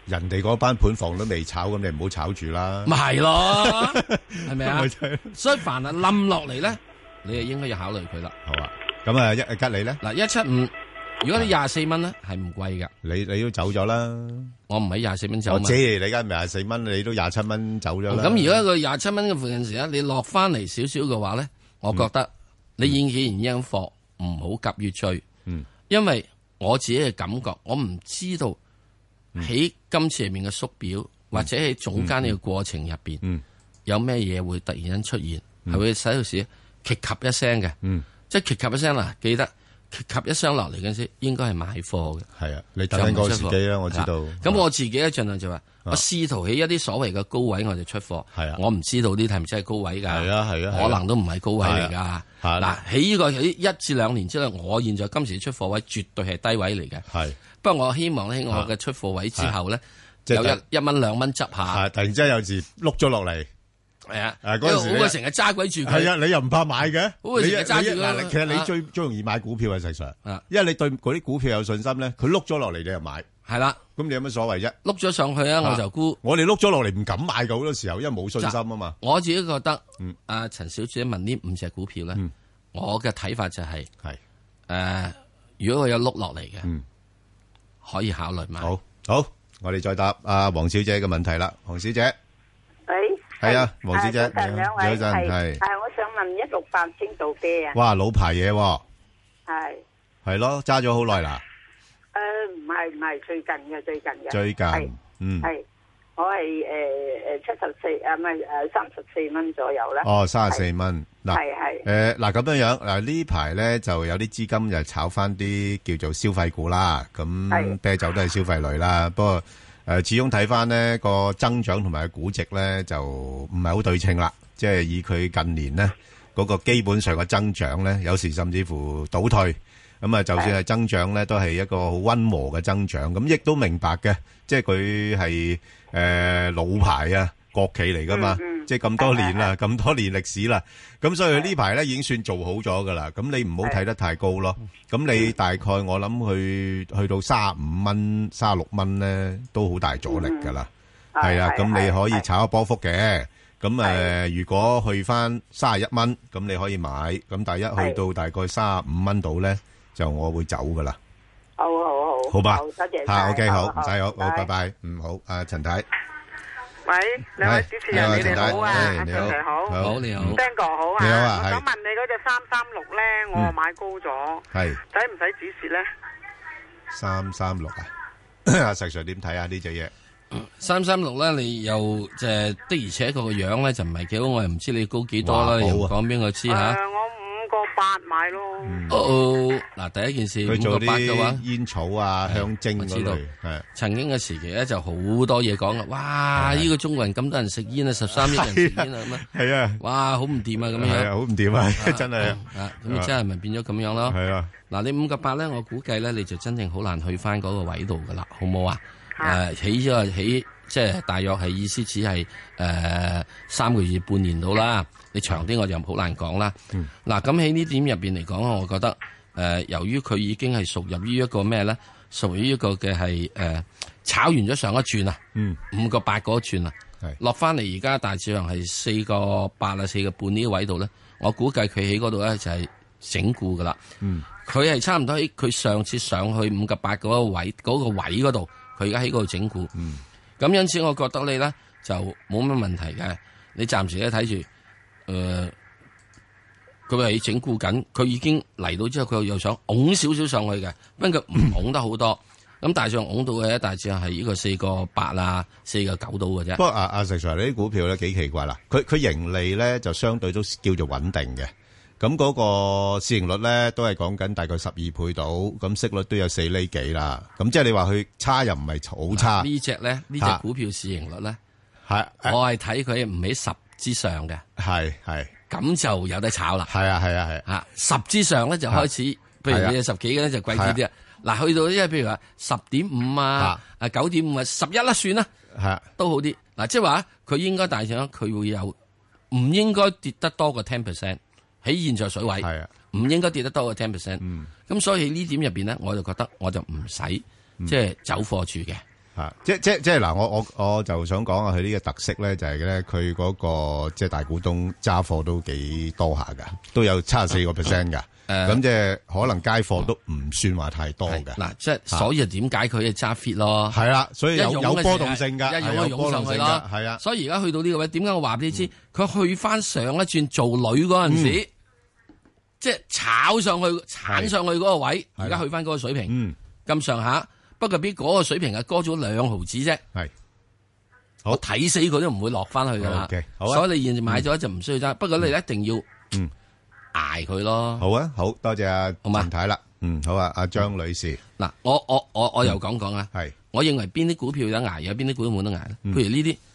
人哋嗰班盤房都未炒，咁你唔好炒住啦。 咪係咯，係咪啊？所以凡係冧落嚟咧，你係應該要考慮佢啦。 好啊，咁啊吉利咧嗱175，如果你24蚊咧係唔貴噶， 你都走咗啦。我唔喺24蚊走。 我知你而家24蚊，你都27蚊走咗啦。 咁而家個27蚊嘅附近時咧，你落翻嚟少少嘅話咧，我覺得你既然應貨，唔好急於追。因為我自己嘅感覺，我唔知道。喺今次入面嘅縮表，或者喺總間呢個過程入邊，有咩嘢會突然間出現，係會使到時劇及一聲嘅，即係劇及一聲啦。記得劇及一聲落嚟嗰陣時，應該係買貨嘅。係啊， 你等緊嗰個時機啦，我知道。 咁我自己咧盡量就話，我試圖喺一啲所謂嘅高位我就出貨。係啊，我唔知道啲係咪真係高位㗎？係啊係啊，可能都唔係高位嚟㗎。嗱，喺呢個喺1至2年之內，我現在今時出貨位絕對係低位嚟嘅。係。不過我希望喺我嘅出貨位之後咧，有1蚊2蚊執下。突然之間有時碌咗落嚟，係啊，嗰陣時好過成日揸鬼住佢。係啊，你又唔怕買嘅？好過成日揸住佢。其實你最容易買股票啊，實際上，因為你對嗰啲股票有信心咧，佢碌咗落嚟你又買。係啦，咁你有乜所謂啫？碌咗上去啊，我就沽。我哋碌咗落嚟唔敢買嘅，好多時候，因為冇信心啊嘛。我自己覺得，阿陳小姐問呢5隻股票咧，我嘅睇法就係，如果佢有碌落嚟嘅。可以考慮嘛？好，我哋再答阿黃小姐嘅問題啦。黃小姐，係啊，黃小姐，有陣係， 我想問168青島啤啊。 哇，老牌嘢喎。係咯，揸咗好耐啦。 唔係最近嘅。 最近， 係我係74啊，唔係34蚊左右啦。 哦，34蚊。嗱，嗱咁樣嗱呢排咧就有啲資金就炒翻啲叫做消費股啦，咁啤酒都係消費類啦。不過始終睇翻呢個增長同埋估值咧就唔係好對稱啦，即係以佢近年呢嗰個基本上嘅增長咧，有時甚至乎倒退。咁啊，就算係增長咧，都係一個好溫和嘅增長。咁亦都明白嘅，即係佢係老牌啊，國企嚟噶嘛。即係咁多年啦，咁多年歷史啦，咁所以佢呢排咧已經算做好咗噶啦。咁你唔好睇得太高咯。咁你大概我諗去到35蚊、36蚊咧，都好大阻力噶啦。係啊，咁你可以炒一波幅嘅。咁如果去翻31蚊，咁你可以買。咁但係一去到大概35蚊度咧，就我會走噶啦。好吧，多謝晒。OK， 好，唔使好，拜拜。好，阿陳太。 喂，兩位主持人，你哋好啊，阿陳太好， 好你好 ，Ben 哥好啊， 你好啊， 我想問你嗰隻336咧，我買高咗，係使唔使止蝕咧 ？336啊，阿石 Sir 點睇啊？呢隻嘢 336咧，你又即係的而且確個樣咧就唔係幾好，我又唔知你高幾多啦，又講邊個知吓？ 我5.8買咯。嗱，第一件事佢做 5.8嘅話， 煙草啊、香精嗰類，係曾經嘅時期咧就好多嘢講啦。哇！呢個中國人咁多人食煙啊，13億人食煙啊，咁啊，係啊，哇，好唔掂啊，咁樣， 好唔掂啊，真係啊， 咁真係咪變咗咁樣咯？ 係啊，嗱，你 5.8咧，我估計咧你就真正好難去翻嗰個位度噶啦，好冇啊？起即係大約係意思只係3個月半年到啦。你長啲我就好難講啦。嗱，咁喺呢點入邊嚟講，我覺得由於佢已經係屬入於一個咩咧？屬於一個嘅係炒完咗上一轉啊，5.8嗰轉啊，落翻嚟而家大致上係4.8啊4.5呢個位度咧，我估計佢喺嗰度咧就係整固噶啦。佢係差唔多喺佢上次上去5.8嗰個位嗰度，佢而家喺嗰度整固。咁因此，我覺得你咧就冇乜問題嘅。你暫時咧睇住，佢係整固緊，佢已經嚟到之後，佢又想拱少少上去嘅，不過佢唔拱得好多。咁大致上拱到嘅，大致上係呢個4.8啊4.9到嘅啫。不過阿石 Sir，你啲股票咧幾奇怪啦，佢盈利咧就相對都叫做穩定嘅。咁嗰個市盈率咧都係講緊大概12倍到，咁息率都有4厘幾啦。咁即係你話佢差又唔係好差。 呢隻股票市盈率咧，我係睇佢唔喺10之上嘅。係咁就有得炒啦。係10之上咧就開始，譬如你10幾嘅咧就貴啲啲啊。嗱，去到即係譬如話10.5啊9.5啊11啦算啦，都好啲。嗱，即係話佢應該大上佢會有，唔應該跌得多過10%。喺現在水位，唔應該跌得多過10%。咁所以呢點入邊咧，我就覺得我就唔使即係走貨住嘅。 即係嗱，我就想講下佢呢個特色咧，就係咧佢嗰個即係大股東揸貨都幾多下噶，都有74%噶。咁即係可能街貨都唔算話太多嘅。嗱， 即係所以點解佢係揸 fit 咯？ 係啦，所以有波動性㗎， 有波動性咯。 係啊， 所以而家去到呢個位，點解我話俾你知？佢去翻上一轉做女嗰陣時，即係炒上去嗰個位，而家去翻嗰個水平咁上下。不過比嗰個水平係高咗2毫子啫。係，我睇死佢都唔會落翻去噶啦。所以你現在買咗就唔需要揸。不過你一定要捱佢咯。 好啊，好多謝阿陳太啦。好啊，阿張女士。 嗱，我又講啦。 係， 我認為邊啲股票有得捱，有邊啲股票冇得捱。譬如呢啲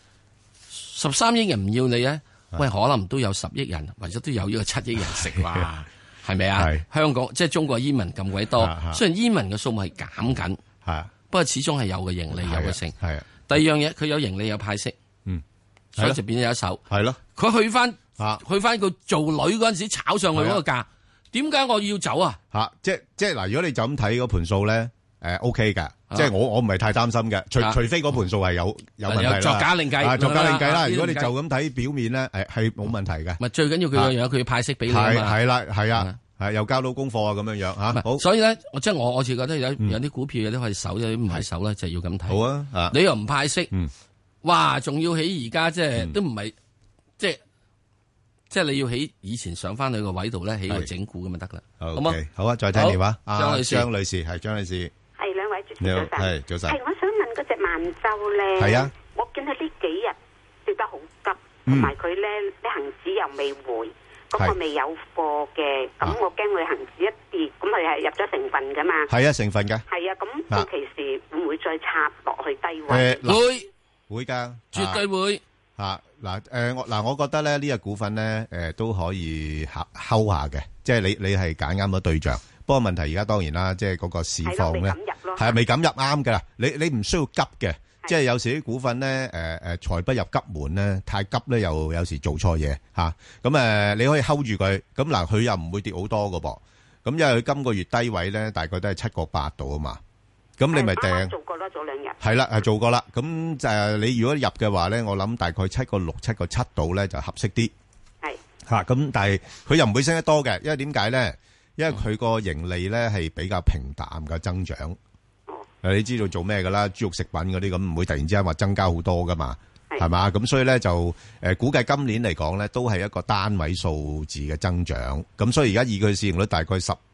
13億人唔要你咧，喂，可能都有10億人，或者都有呢個7億人食哇，係咪啊？香港即係中國煙民咁鬼多，雖然煙民嘅數目係減緊。不過始終係有個盈利，有個成。係。第二樣嘢，佢有盈利有派息。所以就變咗一手。係咯。佢去翻個做女嗰陣時炒上去嗰個價，點解我要走啊？ 即係嗱，如果你就咁睇嗰盤數咧，OK 㗎。即係我唔係太擔心嘅，除非嗰盤數係有問題啦。 作假另計。 作假另計啦。如果你就咁睇表面咧，係冇問題嘅。 咪最緊要佢樣樣，佢要派息俾你啊嘛。 係啦，係啊。係又交到功課啊，咁樣嚇。好， 所以咧，即係我自己覺得有啲股票有啲可以守，有啲唔係守咧，就要咁睇。好啊， 你又唔派息，哇，仲要起而家即係都唔係，即係你要起以前上翻去個位度咧，起個整固咁就得啦。好嘛？好啊，再聽電話。張女士係張女士。 係兩位主持早晨。 係早晨。 係我想問嗰隻萬洲咧。係啊。我見佢呢幾日跌得好急，同埋佢咧啲恆指又未回。咁我未有貨嘅，咁我驚佢恒指一跌，咁佢係入咗成分噶嘛？係啊，成分嘅。係啊，咁到期時會唔會再插落去低位？ 會㗎， 絕對會。 我覺得咧呢個股份咧都可以睺下嘅，即係你係揀啱咗對象。不過問題而家當然啦，即係嗰個市況咧係未敢入啱㗎啦。你唔需要急嘅。即係有時啲股份咧，財不入急門咧，太急咧又有時做錯嘢嚇。咁你可以 hold 住佢。咁嗱，佢又唔會跌好多㗎噃。咁因為佢今個月低位咧，大概都係7.8度啊嘛。咁你咪掟做過啦，早2日。 係啦，係做過啦。咁你如果入嘅話咧，我諗大概7.6、7.7度咧就合適啲。係嚇。咁但係佢又唔會升得多嘅，因為點解咧？因為佢個盈利咧係比較平淡嘅增長。你知道做咩噶啦？豬肉食品嗰啲咁唔會突然之間話增加好多噶嘛，係嘛？咁所以咧就估計今年嚟講咧都係一個單位數字嘅增長。咁所以而家以佢市盈率大概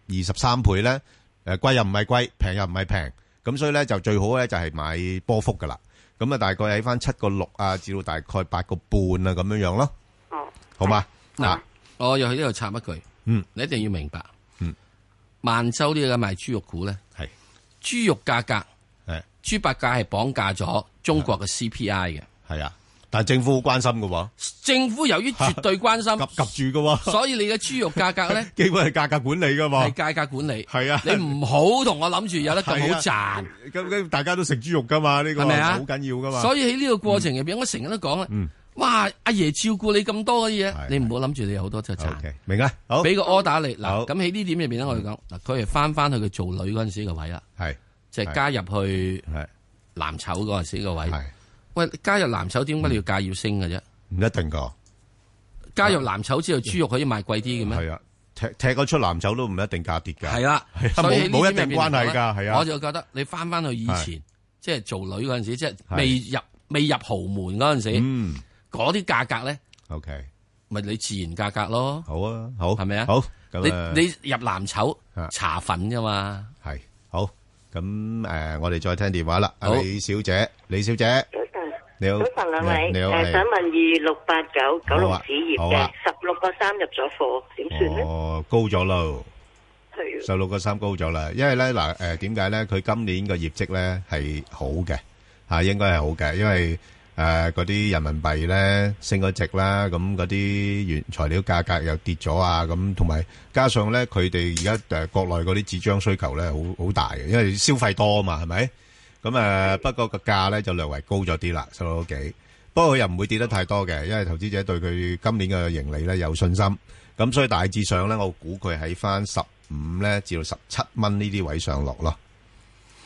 23倍咧，貴又唔係貴，平又唔係平。咁所以咧就最好咧就係買波幅噶啦。咁啊大概喺翻7.6啊至到大概8.5啊咁樣樣咯。哦，好嘛？嗱， 我又喺呢度插一句，你一定要明白，萬洲呢個賣豬肉股咧係。豬肉價格係豬八戒係綁架咗中國嘅 CPI 嘅，係啊，但係政府好關心㗎喎。政府由於絕對關心，及住㗎喎，所以你嘅豬肉價格咧， 基本係價格管理㗎嘛， 係價格管理， 係啊， 你唔好同我諗住有得咁好賺。 咁大家都食豬肉㗎嘛，呢個係咪啊？好緊要㗎嘛。 所以喺呢個過程入邊，我成日都講啦，哇，阿爺照顧你咁多嘅嘢，你唔好諗住你有好多就賺。 明啊，好， 俾個 order 你嗱，咁喺呢點入邊咧，我哋講嗱，佢係翻去佢做女嗰陣時個位啦，係。即係加入去藍籌嗰陣時個位，喂，加入藍籌點解你要價要升嘅啫？ 唔一定噶。 加入藍籌之後，豬肉可以賣貴啲嘅咩？ 係啊，踢咗出藍籌都唔一定價跌噶。 係啦， 冇一定關係噶。係啊， 我就覺得你翻去以前，即係做女嗰陣時，即係未入豪門嗰陣時，嗰啲價格咧 ，OK， 咪你自然價格咯。 好啊，好， 係咪啊？ 好， 你入藍籌茶粉啫嘛。 係好。咁我哋再聽電話啦。李小姐，李小姐， 早晨， 你好， 早晨兩位， 你好， 想問2689九龍紙業嘅16.3入咗貨，點算咧？ 哦，高咗咯，係16.3高咗啦。因為咧嗱，點解咧？佢今年個業績咧係好嘅嚇，應該係好嘅，因為嗰啲人民幣咧升咗值啦，咁嗰啲原材料價格又跌咗啊，咁同埋加上咧佢哋而家國內嗰啲紙張需求咧好大嘅，因為消費多啊嘛，係咪？咁不過個價咧就略為高咗啲啦，16幾。不過佢又唔會跌得太多嘅，因為投資者對佢今年嘅盈利咧有信心，咁所以大致上咧，我估佢喺翻15咧至到17蚊呢啲位上落咯。哦，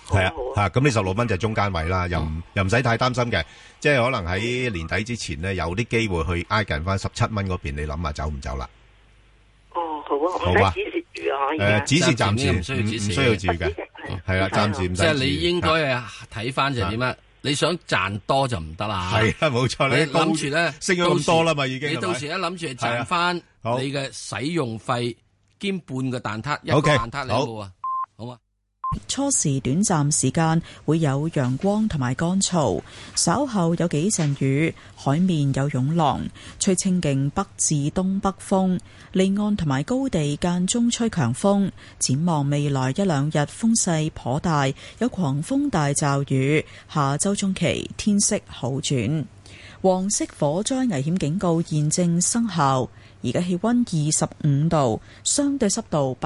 係啊，嚇咁你16蚊就中間位啦，又唔使太擔心嘅，即係可能喺年底之前咧有啲機會去挨近翻17蚊嗰邊，你諗下走唔走啦？ 哦，好啊，唔使指示住啊， 指示暫時唔需要住嘅，係啦，暫時唔使。 即係你應該睇翻就係點啊？你想賺多就唔得啦。 係啊，冇錯。你諗住咧升咗咁多啦嘛，已經。 你到時一諗住賺翻你嘅使用費兼半個蛋撻，一個蛋撻你有冇啊？好嘛。 初時短暫時間會有陽光同埋乾燥，稍後有幾陣雨，海面有湧浪，吹清勁北至東北風，離岸同埋高地間中吹強風。展望未來1、2日風勢頗大，有狂風大驟雨。下周中期天色好轉。黃色火災危險警告現正生效。而家氣溫25度，相對濕度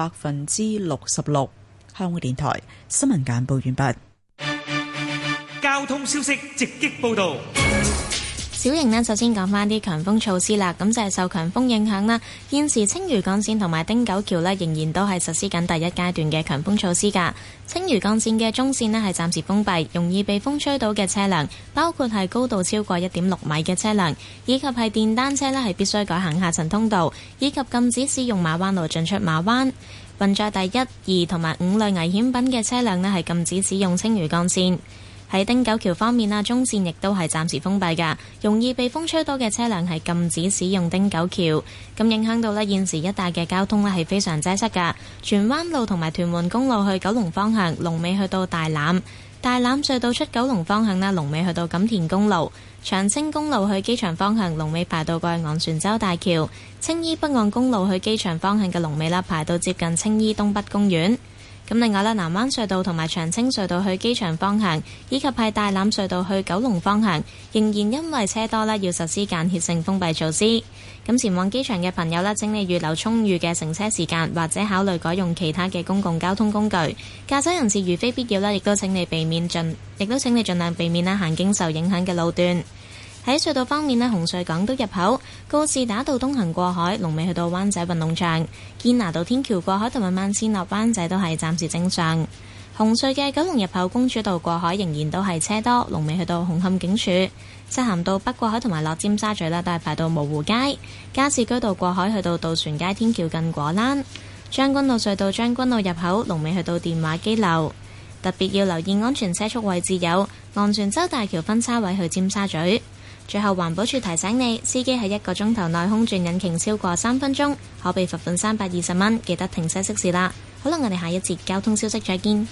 66%。香港電台新聞簡報完畢。 交通消息直擊報道。 小瑩呢，首先講翻啲強風措施啦。咁就係受強風影響啦，現時青嶼幹線同埋汀九橋呢，仍然都係實施緊第一階段嘅強風措施㗎。青嶼幹線嘅中線呢，係暫時封閉，容易被風吹到嘅車輛，包括係高度超過1.6米嘅車輛，以及係電單車呢，係必須改行下層通道，以及禁止使用馬灣路進出馬灣。運載第1、2同埋5類危險品嘅車輛呢，係禁止使用青嶼幹線。喺汀九橋方面啊，中線亦都係暫時封閉㗎，容易被風吹到嘅車輛係禁止使用汀九橋。咁影響到呢現時一帶嘅交通呢係非常擠塞㗎。荃灣路同埋屯門公路去九龍方向，龍尾去到大欖。大欖隧道出九龍方向呢，龍尾去到錦田公路。長青公路去機場方向，龍尾排到過去昂船洲大橋。青衣北岸公路去機場方向嘅龍尾啦，排到接近青衣東北公園。咁另外啦，南灣隧道同埋長青隧道去機場方向，以及係大欖隧道去九龍方向，仍然因為車多啦，要實施間歇性封閉措施。咁前往機場嘅朋友啦，請你預留充裕嘅乘車時間，或者考慮改用其他嘅公共交通工具。駕駛人士如非必要啦，亦都請你盡量避免啦行經受影響嘅路段。喺隧道方面呢，紅隧港島入口告士打道東行過海，龍尾去到灣仔運動場；堅拿道天橋過海同埋慢線落灣仔都係暫時正常。紅隧嘅九龍入口公主道過海仍然都係車多，龍尾去到紅磡警署；漆咸道北過海同埋落尖沙咀啦，都係排到蕪湖街；加士居道過海去到渡船街天橋近果欄；將軍澳隧道將軍澳入口龍尾去到電話機樓。特別要留意安全車速位置有昂船洲大橋分叉位去尖沙咀。最後環保署提醒你，司機喺1個鐘頭內空轉引擎超過3分鐘，可被罰款320蚊。記得停車熄匙啦。好啦，我哋下一節交通消息再見。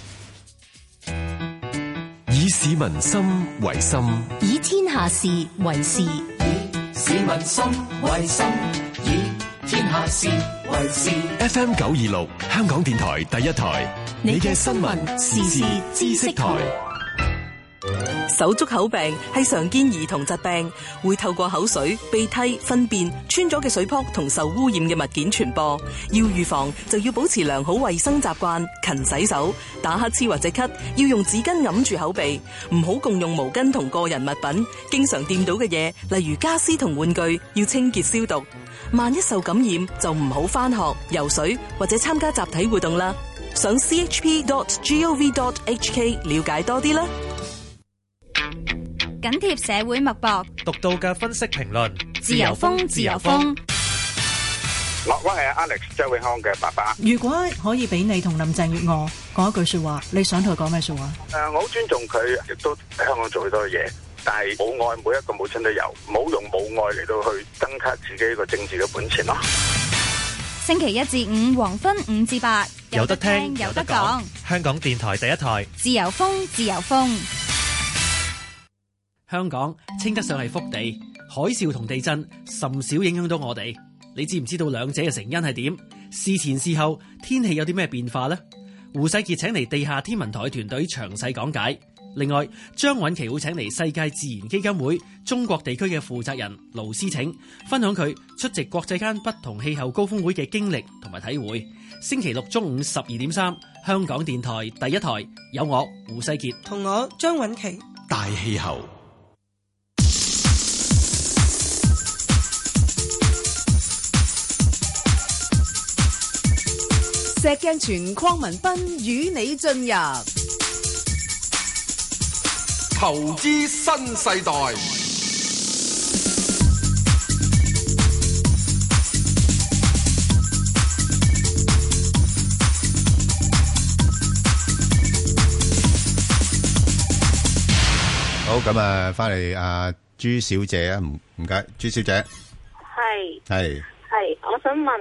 以市民心為心， 以天下事為事。 以市民心為心，以天下事為事。 FM 926，香港電台第一台，你嘅新聞時事知識台。 手足口病係常見兒童疾病，會透過口水、鼻涕、糞便、穿咗嘅水泡同受污染嘅物件傳播。要預防就要保持良好衛生習慣，勤洗手，打乞嗤或者咳要用紙巾揞住口鼻，唔好共用毛巾同個人物品，經常掂到嘅嘢，例如家私同玩具，要清潔消毒。萬一受感染就唔好返學、游水或者參加集體活動啦。上 chp.gov.hk 了解多啲啦。 緊貼社會脈搏， 獨到嘅分析評論， 自由風，自由風。 我係 Alex 周永康嘅爸爸。 如果可以俾你同林鄭月娥講一句說話，你想同佢講咩說話？ 我好尊重佢，亦都喺香港做好多嘢，但係母愛每一個母親都有，唔好用母愛嚟到去增加自己一個政治嘅本錢咯。 星期1至5黃昏5至8， 有得聽，有得講。香港電台第一台， 自由風，自由風。 香港稱得上係福地，海嘯同地震甚少影響到我哋。你知唔知道兩者嘅成因係點？事前事後天氣有啲咩變化呢？胡世傑請嚟地下天文台團隊詳細講解。另外，張韻琪會請嚟世界自然基金會中國地區嘅負責人盧思晴，分享佢出席國際間不同氣候高峰會嘅經歷同埋體會。星期六中午12.3，香港電台第一台有我胡世傑同我張韻琪。 大氣候。 石鏡泉鄺民彬與你進入投資新世代。 好，咁啊，翻嚟阿朱小姐啊，唔該，朱小姐。係， 我想問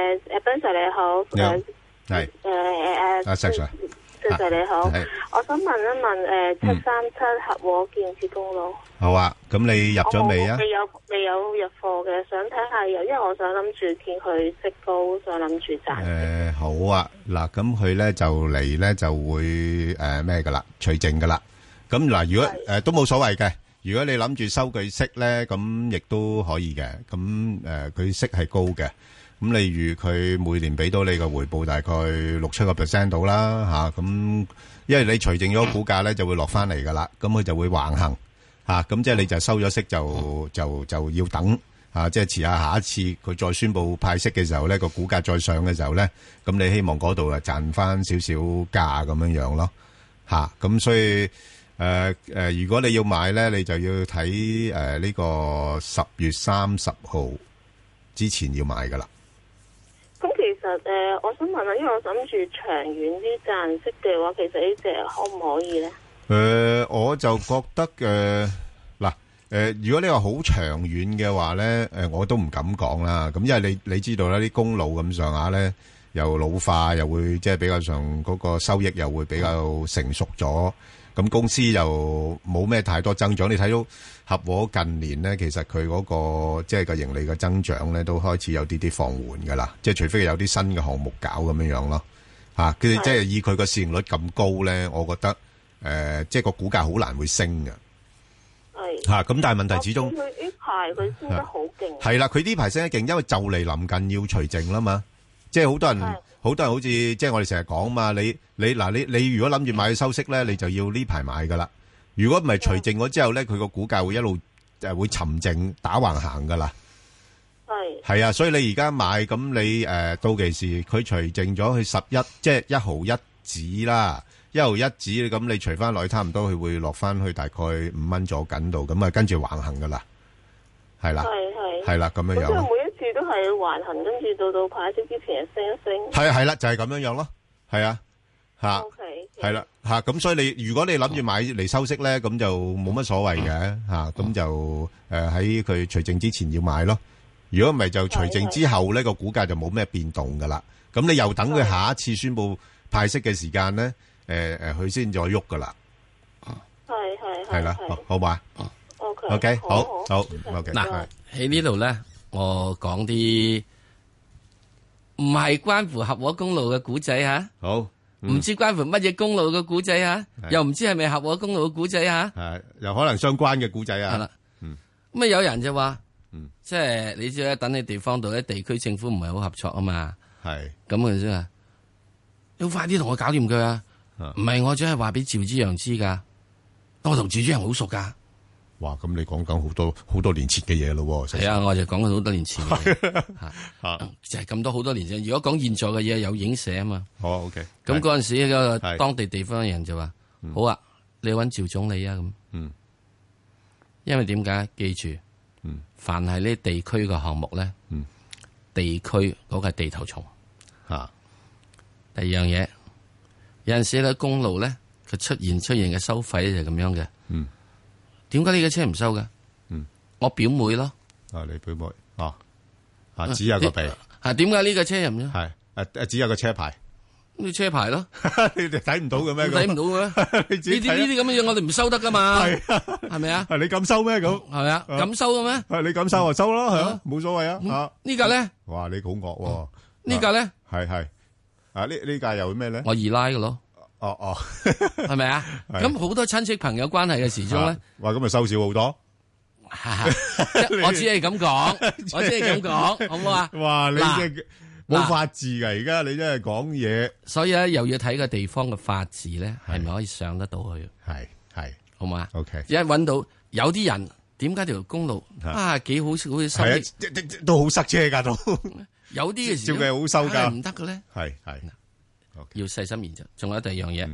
Ben Sir 你好， 係阿石 Sir， 石 Sir 你好，我想問一問737合和建設公路。 好啊，咁你入咗未啊？ 未有入貨嘅，想睇下因為我想諗住見佢息高，想諗住賺。 好啊，嗱，咁佢咧就嚟咧就會咩噶啦，除淨噶啦。咁嗱，如果都冇所謂嘅，如果你諗住收佢息咧，咁亦都可以嘅。咁佢息係高嘅，咁例如佢每年俾到你個回報大概6-7% 到啦嚇。咁因為你除淨咗股價咧，就會落翻嚟噶啦，咁佢就會橫行嚇。咁即係你就收咗息就要等嚇，即係遲下一次佢再宣布派息嘅時候咧，個股價再上嘅時候咧，咁你希望嗰度啊賺翻少少價咁樣咯嚇。咁所以如果你要買咧，你就要睇呢個10月30號之前要買噶啦。 咁其實我想問下，因為我諗住長遠啲賺息嘅話，其實呢隻可唔可以咧？ 我就覺得如果你話好長遠嘅話咧，我都唔敢講啦。咁因為你知道啦，啲公路咁上下咧，又老化，又會即係比較上嗰個收益又會比較成熟咗。咁公司又冇咩太多增長，你睇到合和近年咧，其實佢嗰個即係個盈利嘅增長咧，都開始有啲放緩噶啦。即係除非有啲新嘅項目搞咁樣咯，佢哋即係以佢個市盈率咁高咧，我覺得即係個股價好難會升嘅。係咁但係問題始終佢呢排佢升得好勁。 係啦，佢呢排升得勁，因為就嚟臨近要除淨啦嘛，即係好多人好似即係我哋成日講嘛，你如果諗住買去收息咧，你就要呢排買噶啦。如果唔係除淨咗之後咧，佢個股價會一路會沉靜打橫行噶啦。係啊，所以你而家買咁你到期時佢除淨咗去11，即係1毫1子啦，1毫1子咁你除翻落去差唔多，佢會落翻去大概5蚊左緊度，咁啊跟住橫行噶啦，係啦，係啦咁樣樣。 每一次都係橫行，跟住到派息之前升一升。 係啦，就係咁樣樣咯，係啊，係啦，咁所以如果你諗住買嚟收息咧，咁就冇乜所謂嘅咁就喺佢除淨之前要買咯。如果唔係就除淨之後咧，個股價就冇咩變動噶啦。咁你又等佢下一次宣布派息嘅時間咧，佢先再喐噶啦。係啦，好嘛？OK，好，OK。 嗱喺呢度咧，我講啲唔係關乎合和公路嘅古仔吓。 好。 唔知關乎乜嘢公路嘅古仔啊，又唔知係咪合和公路嘅古仔啊， 又可能相關嘅古仔啊。 係啦，咁啊有人就話，即係你知啦，等你地方度咧，地區政府唔係好合作啊嘛。係咁嘅啫嘛，你快啲同我搞掂佢啊！唔係我只係話俾趙之陽知噶，我同趙之陽好熟噶。 哇！咁你講緊好多年前嘅嘢咯。 係啊，我就講緊好多年前嘅嘢，就係咁多好多年前。如果講現在嘅嘢，有影寫啊嘛。 好 OK。 咁嗰陣時個當地地方嘅人就話：好啊，你揾趙總理啊咁。因為點解？記住，凡係呢地區嘅項目咧，地區嗰個係地頭蟲。第二樣嘢，有陣時咧公路咧，佢出現嘅收費就係咁樣嘅。點解呢個車唔收㗎？我表妹咯。 你表妹只有個鼻。 點解呢個車又唔收？ 係只有個車牌。 咁車牌咯。 你哋睇唔到嘅咩？ 睇唔到嘅。呢啲咁嘅嘢我哋唔收得噶嘛。係咪啊？ 係你敢收咩？咁係咪啊？敢收嘅咩？ 你敢收就收啦，係啊，冇所謂啊。 呢架咧？ 哇！你好惡喎。 呢架咧？ 係呢架又咩咧？ 我二奶嘅咯。係咪啊？咁好多親戚朋友關係嘅時鐘咧， 哇！咁咪收少好多。 我只係咁講，好唔好啊？ 哇！你真係冇法治噶，而家你真係講嘢。 所以咧，又要睇個地方嘅法治咧，係咪可以上得到去？ 係， 好嘛 ？OK。一搵到有啲人，點解條公路幾好收益？ 都好塞車噶都。 有啲嘅時照計好收噶， 唔得嘅咧。 係。 要細心研究，仲有第二樣嘢，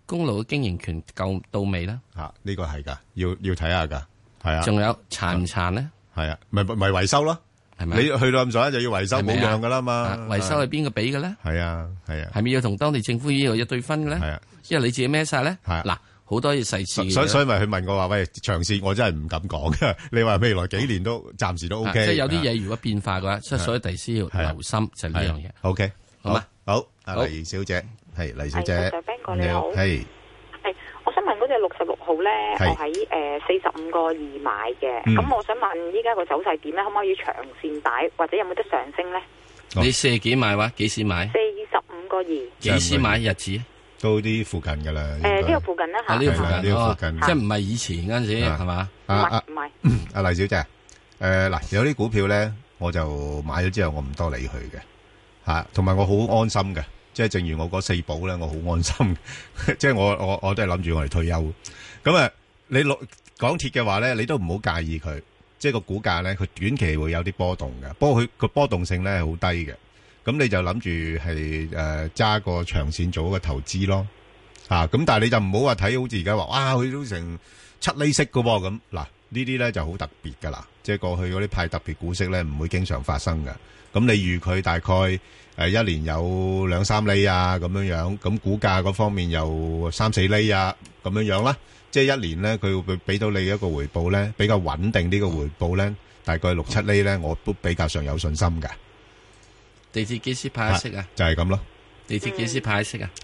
公路嘅經營權夠到未咧？ 呢個係噶，要睇下噶，係啊。 仲有殘唔殘咧？ 係啊，咪維修咯，係咪？你去到咁上下就要維修，冇用噶啦嘛。 維修係邊個俾嘅咧？ 係啊， 係咪要同當地政府呢度一對分嘅咧？係啊，因為你自己孭晒咧。係嗱，好多嘢細節。 所以咪佢問我話，喂，長線我真係唔敢講嘅。你話未來幾年都暫時都 OK。 即係有啲嘢如果變化嘅話，即係所以第時要留心就呢樣嘢。 OK， 好嘛？ 好，黎小姐，係黎小姐， 你好， 係。 我想問嗰隻66號咧，我喺45個2買嘅，咁我想問依家個走勢點咧？可唔可以長線擺，或者有冇得上升咧？ 你40幾買話？幾時買 ？45個2。 幾時買日子？ 都啲附近噶啦。 呢個附近啦嚇。 呢個附近， 呢個附近， 即係唔係以前嗰陣時係嘛？ 唔係。 阿黎小姐，嗱，有啲股票咧，我就買咗之後，我唔多理佢嘅嚇，同埋我好安心嘅。即係正如我嗰4寶咧，我好安心。即係我都係諗住我嚟退休。咁啊，你港鐵嘅話咧，你都唔好介意佢。即係個股價咧，佢短期會有啲波動嘅。不過佢個波動性咧係好低嘅。咁你就諗住係揸個長線做一個投資咯。咁但係你就唔好話睇好似而家話，哇，佢都成7厘息㗎喎。咁嗱，呢啲咧就好特別㗎啦。即係過去嗰啲派特別股息咧，唔會經常發生嘅。咁你預佢大概一年有2-3厘啊咁樣樣，咁股價嗰方面有3-4厘啊咁樣樣啦，即係一年咧佢會俾到你一個回報咧，比較穩定啲嘅回報咧，大概6-7厘咧，我都比較上有信心嘅。 地鐵幾時派息啊？ 就係咁咯。 地鐵幾時派息啊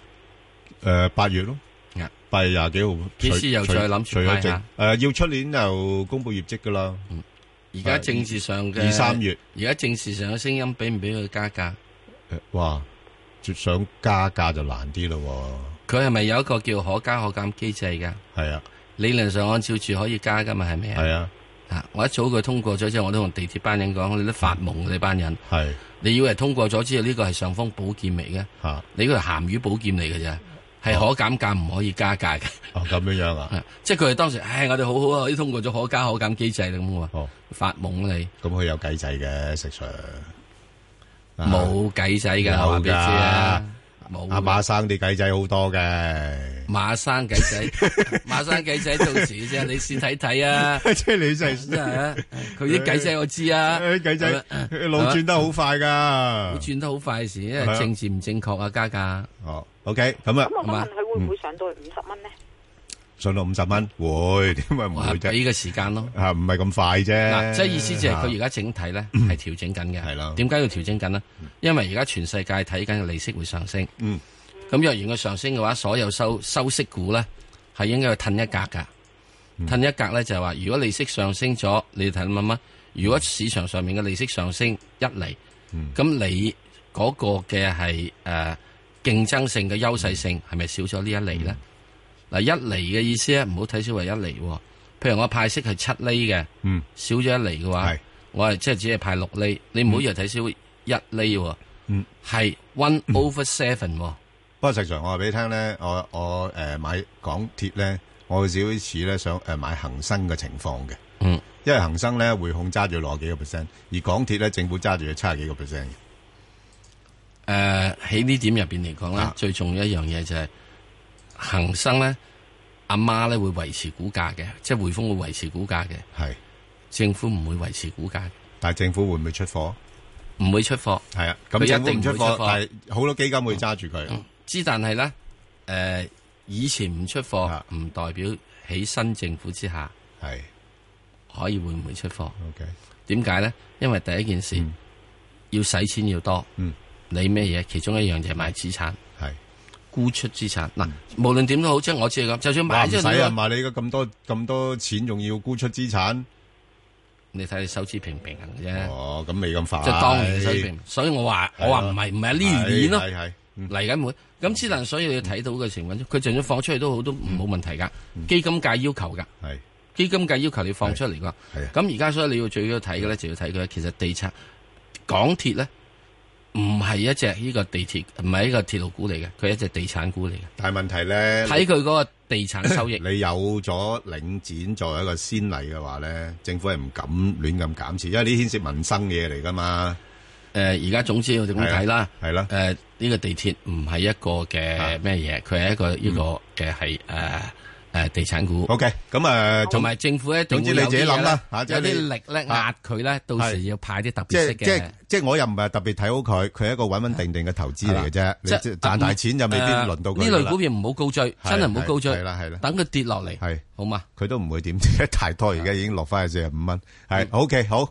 ？8月咯，8月20幾號。 幾時又再諗住派下？ 要出年又公布業績噶啦。 而家政治上嘅 2-3月， 而家政治上嘅聲音俾唔俾佢加價？ 哇！想加價就難啲咯。 佢係咪有一個叫可加可減機制噶？ 係啊， 理論上按照住可以加噶嘛？係咪啊？ 係啊。 我一早佢通過咗之後，我都同地鐵班人講，你都發夢你班人。 係。 你以為通過咗之後呢個係尚方寶劍嚟嘅？你嗰個係鹹魚寶劍嚟嘅啫，係可減價唔可以加價嘅。 咁樣樣啊？ 即係佢哋當時，我哋好好啊，啲通過咗可加可減機制啦咁喎。發夢你。咁佢有計制嘅食上。 冇計仔噶，話俾你知啊！冇阿馬生啲計仔好多嘅， 馬生計仔，馬生計仔到時啫，你先睇睇啊！ 即係你真係， 佢啲計仔我知啊， 計仔路轉得好快噶， 轉得好快時，因為政治唔正確啊，加價。 OK，咁啊， 咁我想問佢會唔會上到去50蚊呢？ 上到50蚊會，點解唔會啫？ 俾個時間咯， 唔係咁快啫。 嗱，即係意思就係佢而家整體咧係調整緊嘅。係咯。點解要調整緊呢？因為而家全世界睇緊嘅利息會上升。咁若然佢上升嘅話，所有收息股咧係應該要褪一格噶。褪一格咧就係話，如果利息上升咗，你睇乜？如果市場上面嘅利息上升1厘，咁你嗰個嘅係競爭性嘅優勢性係咪少咗呢1厘咧？嗱，1厘嘅意思咧，唔好睇少為1厘。譬如我派息係7厘嘅，少咗1厘嘅話，我係即係只係派6厘。你唔好以為睇少1厘，係 1/7。不過實際上我話俾你聽咧，我買港鐵咧，我有少少似咧想買恒生嘅情況嘅。因為恒生咧匯控揸住60幾個%，而港鐵咧政府揸住咗70幾個%嘅。 喺呢點入邊嚟講咧，最重要一樣嘢就係。恒生咧，阿媽咧會維持股價嘅，即係匯豐會維持股價嘅。 係政府唔會維持股價嘅。 但係政府會唔會出貨？ 唔會出貨。 係啊，咁政府唔出貨，但係好多基金會揸住佢。 但係咧，以前唔出貨，唔代表喺新政府之下係可以會唔會出貨 ？OK， 點解咧？因為第一件事要使錢要多。你咩嘢？其中一樣就係買資產。沽出資產嗱，無論點都好，即係我知係咁。就算買咗， 唔使啊嘛！你而家咁多錢，仲要沽出資產， 你睇你收支平平衡啫。 哦，咁未咁快。 即係當然收支平，所以我話唔係呢年咯，嚟緊會咁之但，所以你要睇到嘅情況，佢就算放出去都好，都冇問題噶。基金界要求噶，基金界要求你放出嚟噶。咁而家所以你要最要睇嘅咧，就要睇佢其實地產港鐵咧。唔係一隻呢個地鐵，唔係一個鐵路股嚟嘅，佢係一隻地產股嚟嘅。 但係問題咧， 睇佢嗰個地產收益。 你有咗領展作為一個先例嘅話咧，政府係唔敢亂咁減持，因為呢牽涉民生嘢嚟噶嘛。 而家總之要點睇啦？ 係啦。 呢個地鐵唔係一個嘅咩嘢，佢係一個呢個嘅係地產股。 OK， 咁同埋政府咧， 總之你自己諗啦， 有啲力咧壓佢咧，到時要派啲特別息嘅。 即係我又唔係特別睇好佢，佢係一個穩穩定定嘅投資嚟嘅啫。你賺大錢就未必輪到佢。 呢類股票唔好高追，真係唔好高追。 係啦， 等佢跌落嚟， 係好嘛？ 佢都唔會點跌太多，而家已經落翻去45蚊。係 OK， 好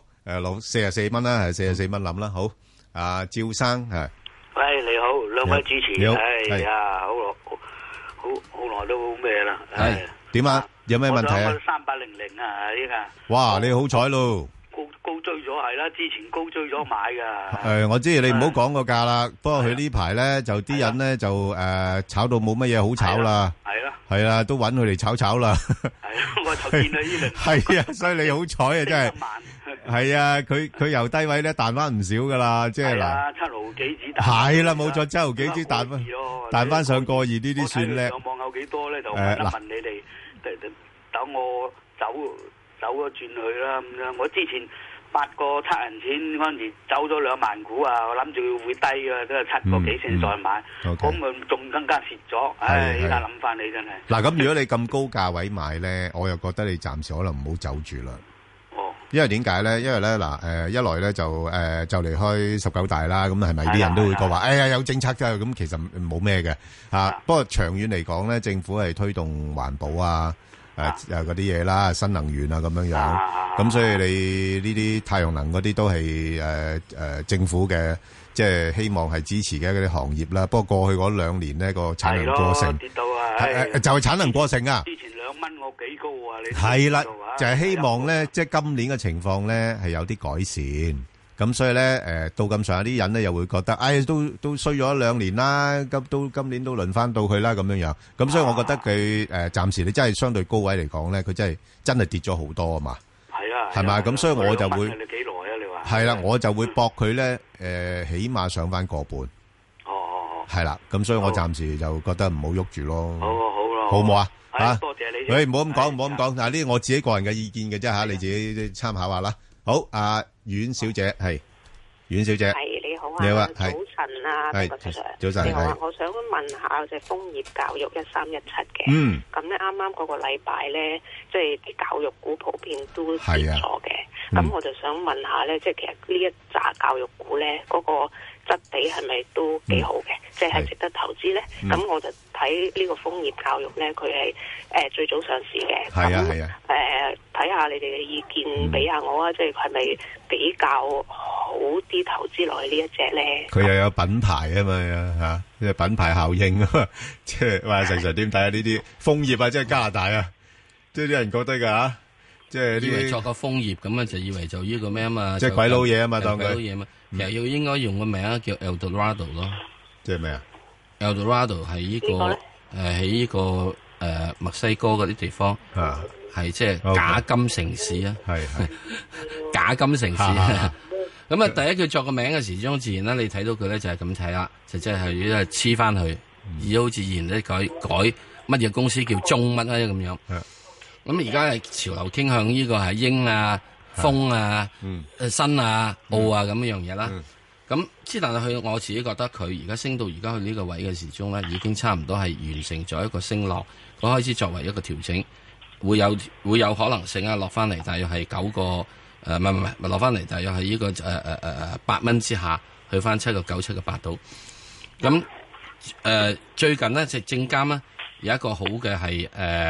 44蚊啦，係44蚊諗啦。好，阿趙生係。 喂，你好，兩位主持， 你好， 哎呀，好耐都咩啦， 係點啊？有咩問題啊 ？3800啊，依家。 哇，你好彩咯！ 高追咗係啦，之前高追咗買噶。 我知你唔好講個價啦。不過佢呢排咧就啲人咧就炒到冇乜嘢好炒啦。係啦，都揾佢嚟炒啦。 係啊，我就見到呢輪。 係啊，所以你好彩啊，真係。係啊，佢由低位咧彈翻唔少噶啦，即係嗱 ，7毫幾子彈。 係啦，冇錯，7毫幾子彈翻上過2呢啲算叻。 上網有幾多咧？就問你哋，等我走咗轉去啦咁樣。我之前8個7銀錢嗰陣時走咗2萬股啊，我諗住會低嘅，都係7個幾先再買，咁咪仲更加蝕咗。唉，依家諗翻你真係。 嗱，咁如果你咁高價位買咧，我又覺得你暫時可能唔好走住啦。因為點解咧？因為咧嗱，一來咧就離開19大啦，咁係咪啲人都會講話？哎呀，有政策啫，咁其實冇咩嘅嚇。不過長遠嚟講咧，政府係推動環保啊，嗰啲嘢啦，新能源啊咁樣樣。咁所以你呢啲太陽能嗰啲都係政府嘅，即係希望係支持嘅嗰啲行業啦。不過過去嗰2年呢個產能過剩， 跌到啊， 就係產能過剩啊。 之前2蚊我幾高啊？你係啦，就係希望咧，即係今年嘅情況咧係有啲改善。咁所以咧，到咁上下啲人咧又會覺得，都衰咗1-2年啦，今年都輪翻到佢啦咁樣樣。咁所以我覺得佢暫時你真係相對高位嚟講咧，佢真係跌咗好多啊嘛。 係啊， 係咪？咁所以我就會你幾耐啊？你話係啦，我就會搏佢咧，起碼上翻個半。係啦，咁所以我暫時就覺得唔好喐住咯。好唔好啊？吓，多謝你。喂，唔好咁講，唔好咁講。嗱，呢啲我自己個人嘅意見嘅啫吓，你自己參考下啦。好，阿阮小姐係，阮小姐係你好啊， 你好啊， 早晨啊， 早晨， 你好啊，我想問下隻楓葉教育1317嘅，咁咧啱啱嗰個禮拜咧，即係啲教育股普遍都跌咗嘅，咁我就想問下咧，即係其實呢一紮教育股咧，嗰個質地係咪都幾好嘅？即係值得投資咧？咁我就睇呢個楓葉教育咧，佢係最早上市嘅。係啊。睇下你哋嘅意見，俾下我啊！即係咪比較好啲投資落去呢一隻咧？ 佢又有品牌啊嘛嚇，即係品牌效應啊嘛。即係話成點睇下呢啲楓葉啊？即係加拿大啊！即係啲人覺得㗎嚇，即係以為作個楓葉咁啊，就以為就呢個咩啊嘛？ 即係鬼佬嘢啊嘛，當佢鬼佬嘢嘛。其實要應該用個名叫 Eldorado 咯。 即係咩啊 ？Eldorado 係呢個喺呢個墨西哥嗰啲地方啊。係即係假金城市啊，係假金城市啊。咁啊，第一佢作個名嘅時鐘，自然咧，你睇到佢咧就係咁睇啦，就即係黐翻去，而好自然咧改乜嘢公司叫中乜啊咁樣。咁而家係潮流傾向呢個係英啊、風啊、新啊、澳啊咁樣嘢啦。咁之但係我自己覺得佢而家升到而家去呢個位嘅時鐘咧，已經差唔多係完成咗一個升浪，佢開始作為一個調整。會有可能性啊，落翻嚟大約係9個唔係落翻嚟大約係呢個8蚊之下，去翻7個9、7個8度。咁最近呢，就證監呢有一個好嘅係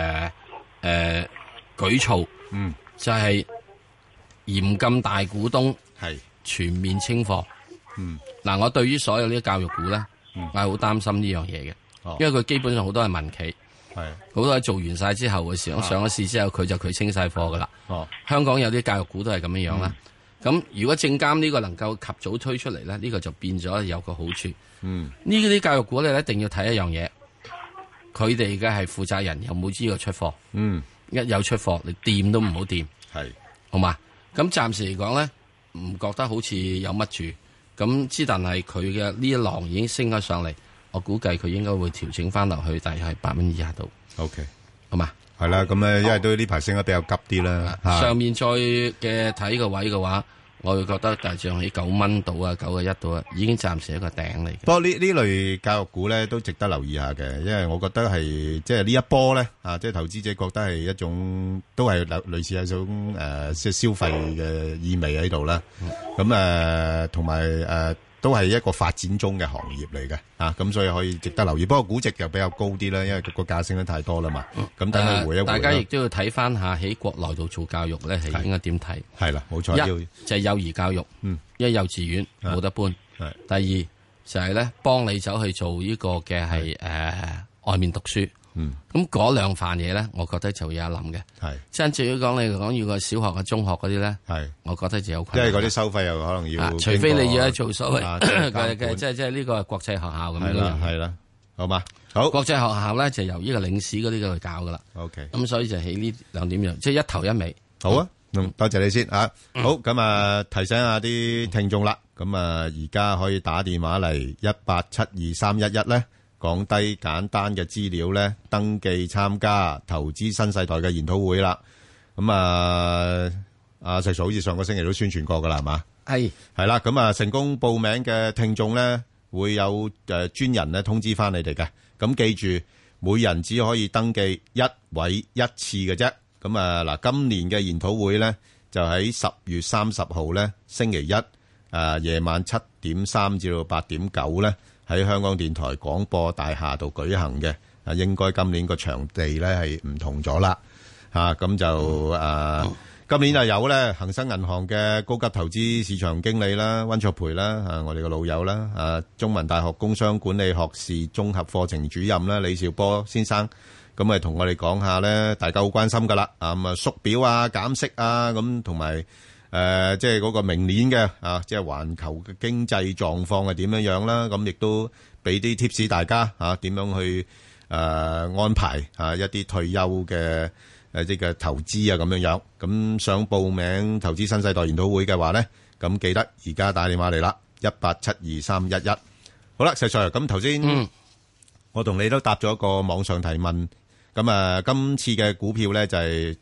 舉措，就係嚴禁大股東係全面清貨。嗱，我對於所有呢啲教育股咧，我係好擔心呢樣嘢嘅，因為佢基本上好多係民企。係好多做完晒之後嘅時候，上咗市之後佢清晒貨噶啦。香港有啲教育股都係咁樣樣啦。咁如果證監呢個能夠及早推出嚟咧，呢個就變咗有個好處。呢啲教育股咧一定要睇一樣嘢，佢哋嘅係負責人有冇知道出貨。一有出貨，你掂都唔好掂。係好嘛？咁暫時嚟講咧，唔覺得好似有乜住。咁之但係佢嘅呢一浪已經升咗上嚟。我估計佢應該會調整翻落去，大約係8蚊以下度。OK， 好嘛？係啦，咁因為都呢排升得比較急啲啦。上面再嘅睇個位嘅話， 我會覺得大漲喺9蚊到啊，9.1到啊，已經暫時一個頂嚟嘅。 不過呢類教育股咧都值得留意下嘅，因為我覺得係即係呢一波咧即係投資者覺得係一種都係類似一種即係消費嘅意味喺度啦。咁同埋都係一個發展中嘅行業嚟嘅咁所以可以值得留意。不過估值又比較高啲啦，因為個價升得太多啦嘛。咁等佢回一回。 大家亦都要睇翻下喺國內度做教育咧，係應該點睇？係啦，冇錯。一就係幼兒教育，因為幼稚園冇得搬。第二就係咧幫你走去做呢個嘅係外面讀書。咁嗰兩範嘢咧，我覺得就有一諗嘅。係，真至於講你講要個小學啊、中學嗰啲咧，係，我覺得就有困難。因為嗰啲收費又可能要，除非你要做所謂嘅即係呢個係國際學校咁樣。係啦，係啦，好嘛？好，國際學校咧就由呢個領事嗰啲去教噶啦。OK，咁所以就起呢兩點樣，即係一頭一尾。好啊，多謝你先好，咁提醒下啲聽眾啦。咁而家可以打電話嚟1872311咧。講低簡單嘅資料咧，登記參加投資新世代嘅研討會啦。咁阿石 Sir 好似上個星期都宣傳過噶啦，係嘛？係啦。咁成功報名嘅聽眾咧，會有專人咧通知翻你哋嘅。咁記住，每人只可以登記一位一次嘅啫。咁嗱，今年嘅研討會咧就喺10月30號咧星期一夜晚7:3至到8:9咧。喺香港電台廣播大廈度舉行嘅，應該今年個場地咧係唔同咗啦，咁就今年就有咧恒生銀行嘅高級投資市場經理啦，溫卓培啦，我哋個老友啦，中文大學工商管理學士綜合課程主任啦，李兆波先生，咁同我哋講下咧，大家好關心噶啦，縮表啊、減息啊，咁同埋。即係嗰個明年嘅即係環球嘅經濟狀況係點樣啦？咁亦都俾啲 tips 大家點樣去安排一啲退休嘅即係投資咁樣。咁想報名投資新世代研討會嘅話咧，咁記得而家打電話嚟啦，1872311。好啦，石 Sir，咁頭先我同你都答咗一個網上提問。咁今次嘅股票咧就係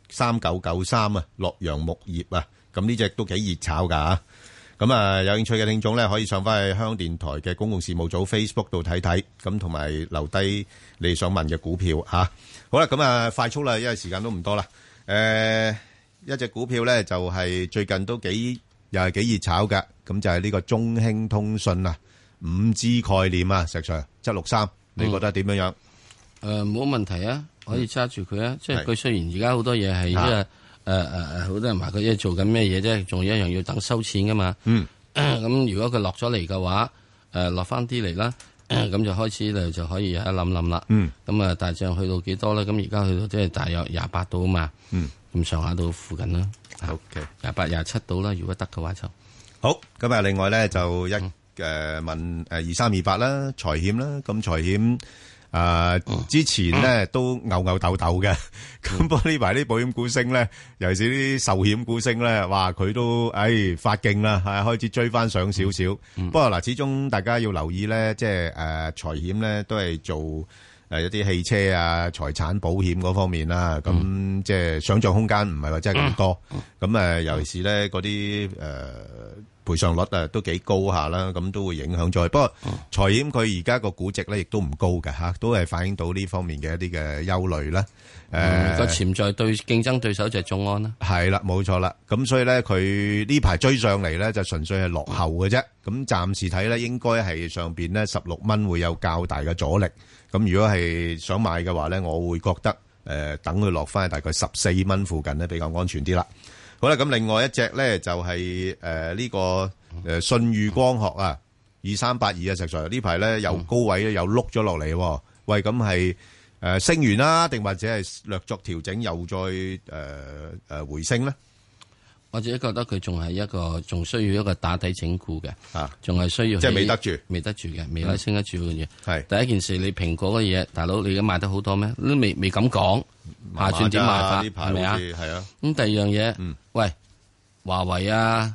3993啊，洛陽木業啊。咁呢隻都幾熱炒噶咁有興趣嘅聽眾咧，可以上翻去香港電台嘅公共事務組 Facebook 度睇睇，咁同埋留低你想問嘅股票吓。好啦，咁快速啦，因為時間都唔多啦。一隻股票咧就係最近都又係幾熱炒噶，咁就係呢個中興通訊啊，5G 概念啊，石 Sir 763，你覺得點樣樣？冇問題啊，可以揸住佢啊。即係佢雖然而家好多嘢係即係。好多人話佢即係做緊咩嘢啫，仲有一樣要等收錢噶嘛。咁如果佢落咗嚟嘅話，落翻啲嚟啦，咁就開始就可以有一諗啦。咁大漲去到幾多咧？咁而家去到即係大約28度啊嘛。咁上下到附近啦。 OK， 28、27度啦，如果得嘅話就好。咁另外咧就問2328啦，財險啦，咁財險。之前咧都牛豆豆嘅，咁不過呢排啲保險股升咧，尤其是啲壽險股升咧，哇佢都發勁啦，係開始追翻上少少。不過嗱，始終大家要留意咧，即係財險咧都係做一啲汽車啊、財產保險嗰方面啦。咁即係想象空間唔係話真係咁多。咁尤其是咧嗰啲賠償率都幾高下啦，咁都會影響咗。不過財險佢而家個估值咧亦都唔高嘅吓，都係反映到呢方面嘅一啲嘅憂慮啦。 個潛在競爭對手就係眾安啦。 係啦，冇錯啦。咁所以咧，佢呢排追上嚟咧，就純粹係落後嘅啫。咁暫時睇咧，應該係上邊咧16蚊會有較大嘅阻力。咁如果係想買嘅話咧，我會覺得等佢落翻去大概14蚊附近咧比較安全啲啦。好啦，咁另外一隻咧就係呢個信譽光學啊，2382啊，石 Sir 呢排咧由高位咧又碌咗落嚟。喂，咁係升完啦，定或者係略作調整又再回升咧？ 我自己覺得佢仲需要一個打底整固嘅，仲係需要即係未得住嘅，未可以升得住嘅嘢。係第一件事，你蘋果嘅嘢，大佬你而家賣得好多咩？都未敢講，下轉點賣法係咪啊？係啊。咁第二樣嘢，喂，華為啊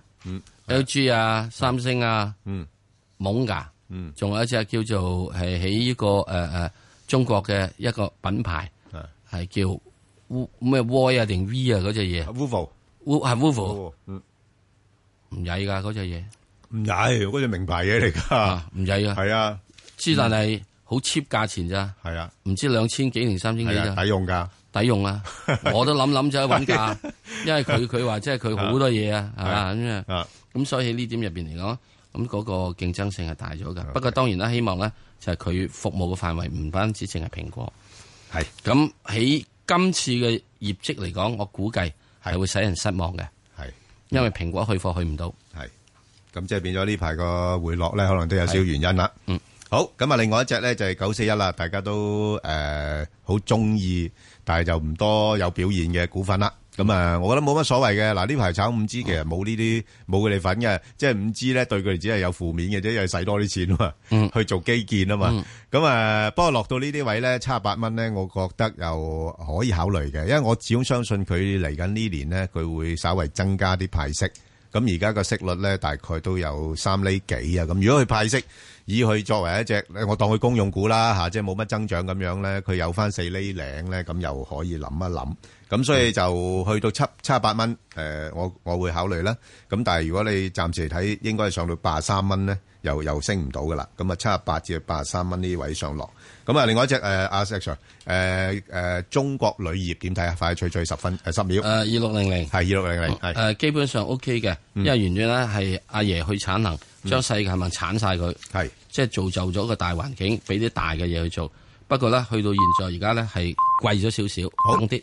，LG 啊，三星啊，懵噶，仲有一隻叫做係喺呢個中國嘅一個品牌，係叫咩 Y 啊定 V 啊嗰隻嘢。係 Wolf， 唔曳噶嗰隻嘢， 唔曳，嗰隻名牌嘢嚟噶， 唔曳啊， 係啊， 之但係好 cheap 價錢咋， 係啊， 唔知2000幾定3000幾咋， 抵用噶， 抵用啊！我都諗就去揾價，因為佢話即係佢好多嘢啊，係嘛咁啊，咁所以喺呢點入邊嚟講，咁嗰個競爭性係大咗噶。不過當然啦，希望咧就係佢服務嘅範圍唔單止淨係蘋果，係咁喺今次嘅業績嚟講，我估計係會使人失望嘅，係因為蘋果去貨去唔到，係咁即係變咗呢排個回落咧，可能都有少少原因啦。嗯，好，咁啊，另外一隻咧就係941啦，大家都好中意，但係就唔多有表現嘅股份啦。咁啊，我覺得冇乜所謂嘅。嗱，呢排炒 5G 其實冇佢哋份嘅，即係 5G 咧對佢哋只係有負面嘅啫，因為使多啲錢啊嘛，去做基建啊嘛。咁不過落到呢啲位咧，78蚊咧，我覺得又可以考慮嘅，因為我始終相信佢嚟緊呢年咧，佢會稍微增加啲派息。咁而家個息率咧大概都有3厘幾啊。咁如果佢派息，以佢作為一隻，我當佢公用股啦嚇，即係冇乜增長咁樣咧，佢有翻4厘零咧，咁又可以諗一諗。咁所以就去到78蚊，我會考慮啦。咁但係如果你暫時嚟睇，應該係上到83蚊咧，又升唔到噶啦。咁啊78至83蚊呢位上落。咁啊，另外一隻阿石 Sir，中國鋁業點睇啊？快脆脆10秒。 2600 係2600係。 基本上 OK 嘅，因為原來咧係阿爺去產能，將世界係鏟晒佢，係即係造就咗個大環境，俾啲大嘅嘢去做。不過咧，去到現在而家咧係貴咗少少，等啲。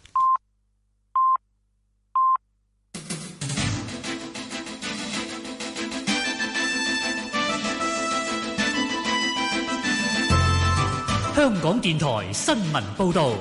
香港電台新聞報道。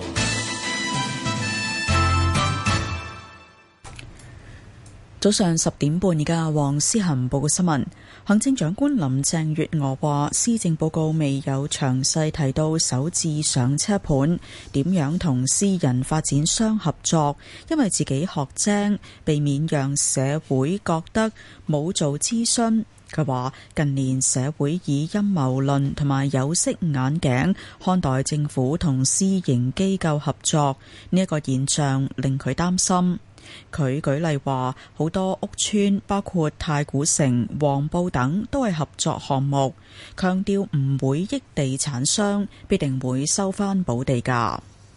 早上10點半，而家黃思涵報告新聞。行政長官林鄭月娥話，施政報告未有詳細提到首置上車盤點樣同私人發展商合作，因為自己學精，避免讓社會覺得冇做諮詢。佢話近年社會以陰謀論同埋有色眼鏡看待政府同私營機構合作，呢一個現象令佢擔心。佢舉例話，好多屋邨包括太古城、黃埔等都係合作項目，強調唔會益地產商，必定會收返補地價。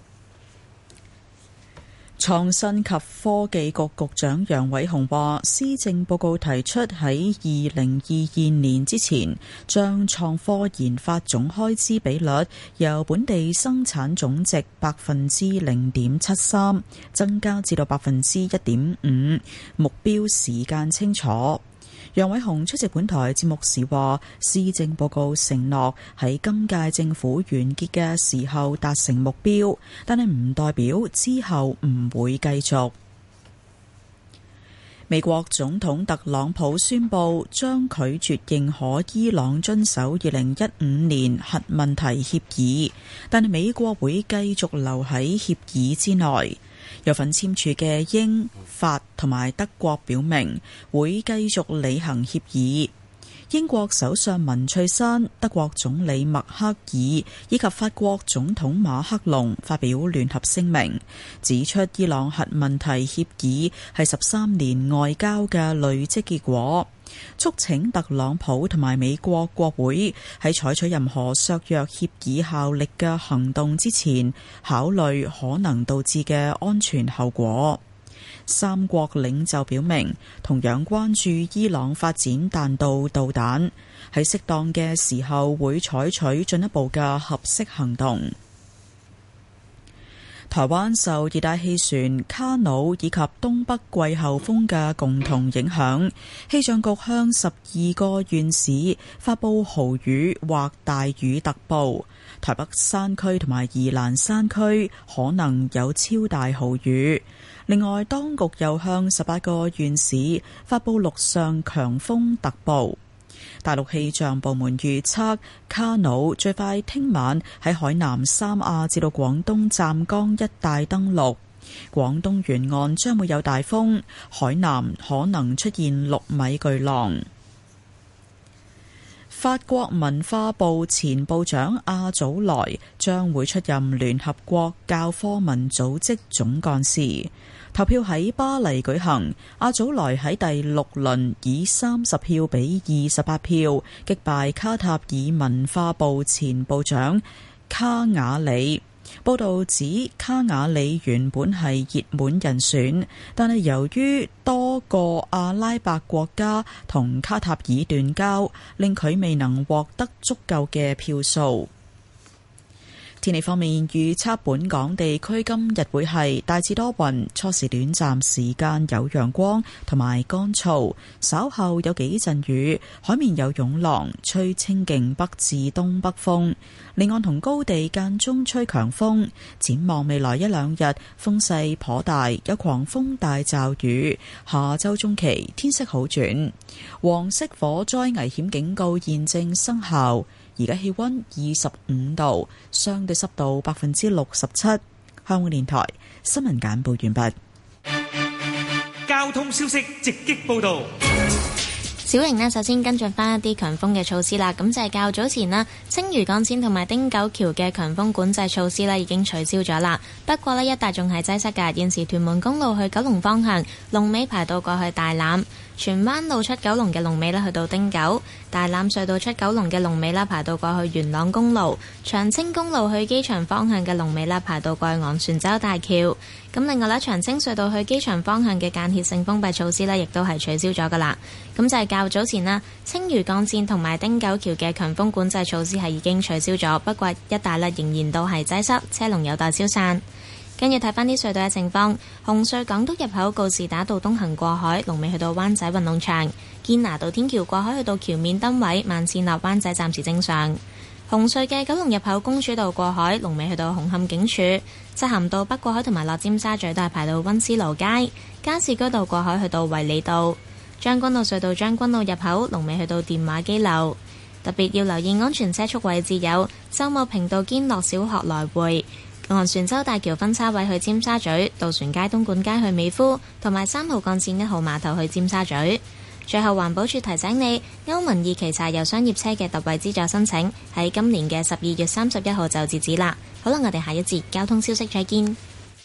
創新及科技局局長楊偉雄話，施政報告提出喺2022年之前，將創科研發總開支比率由本地生產總值0.73%增加至到1.5%，目標時間清楚。楊偉雄出席本台節目時話，施政報告承諾喺今屆政府完結嘅時候達成目標，但係唔代表之後唔會繼續。美國總統特朗普宣布將拒絕認可伊朗遵守2015年核問題協議，但係美國會繼續留喺協議之內。有份簽署嘅英、法同埋德國表明會繼續履行協議。英國首相文翠珊、德國總理默克爾以及法國總統馬克龍發表聯合聲明，指出伊朗核問題協議係13年外交嘅累積結果，促請特朗普同埋美國國會喺採取任何削弱協議效力嘅行動之前，考慮可能導致嘅安全後果。三國領袖表明同樣關注伊朗發展彈道導彈，喺適當嘅時候會採取進一步嘅合適行動。台灣受熱帶氣旋卡努以及東北季候風嘅共同影響，氣象局向12個縣市發佈豪雨或大雨特報，台北山區同埋宜蘭山區可能有超大豪雨。另外，當局又向18個縣市發佈陸上強風特報。大陸氣象部門預測，卡努最快聽晚喺海南三亞至到廣東湛江一帶登陸，廣東沿岸將會有大風，海南可能出現6米巨浪。 法國文化部前部長阿祖萊將會出任聯合國教科文組織總幹事。投票喺巴黎舉行，阿祖萊喺第6輪以30票比28票擊敗卡塔爾文化部前部長卡瓦里。報道指卡瓦里原本係熱門人選，但係由於多個阿拉伯國家同卡塔爾斷交，令佢未能獲得足夠嘅票數。天氣方面，預測本港地區今日會係大致多雲，初時短暫時間有陽光同埋乾燥，稍後有幾陣雨，海面有湧浪，吹清勁北至東北風，離岸同高地間中吹強風。展望未來一兩日風勢頗大，有狂風大驟雨，下周中期天色好轉。黃色火災危險警告現正生效。而家氣溫25度，相對濕度67%。香港電台新聞簡報完畢。 交通消息直擊報道。 小瑩呢，首先跟進翻一啲強風嘅措施啦。咁就係較早前啦，青嶼幹線同埋汀九橋嘅強風管制措施呢已經取消咗啦。不過呢，一帶仲係擠塞㗎。現時屯門公路去九龍方向龍尾排到過去大欖，荃灣路出九龍嘅龍尾呢去到汀九，大欖隧道出九龍嘅龍尾呢排到過去元朗公路，長青公路去機場方向嘅龍尾呢排到過去昂船洲大橋。咁另外呢，長青隧道去機場方向嘅間歇性封閉措施呢亦都係取消咗㗎啦。咁就係較早前啦，青嶼幹線同埋汀九橋嘅強風管制措施係已經取消咗，不過一帶呢仍然都係擠塞，車龍有待消散。跟住睇翻啲隧道嘅情況，紅隧港島入口告士打道東行過海，龍尾去到灣仔運動場；堅拿道天橋過海去到橋面燈位，慢線落灣仔暫時正常。紅隧嘅九龍入口公主道過海，龍尾去到紅磡警署；漆咸道北過海同埋落尖沙咀都係排到溫思勞街；加士居道過海去到衛理道；將軍澳隧道將軍澳入口，龍尾去到電話機樓。特別要留意安全車速位置有秀茂坪道堅樂小學來回、昂船洲大橋分叉位去尖沙咀、渡船街東莞街去美孚，同埋3號幹線1號碼頭去尖沙咀。最後環保署提醒你，歐盟2期柴油商業車嘅特惠資助申請喺今年嘅12月31號就截止啦。好啦，我哋下一節交通消息再見。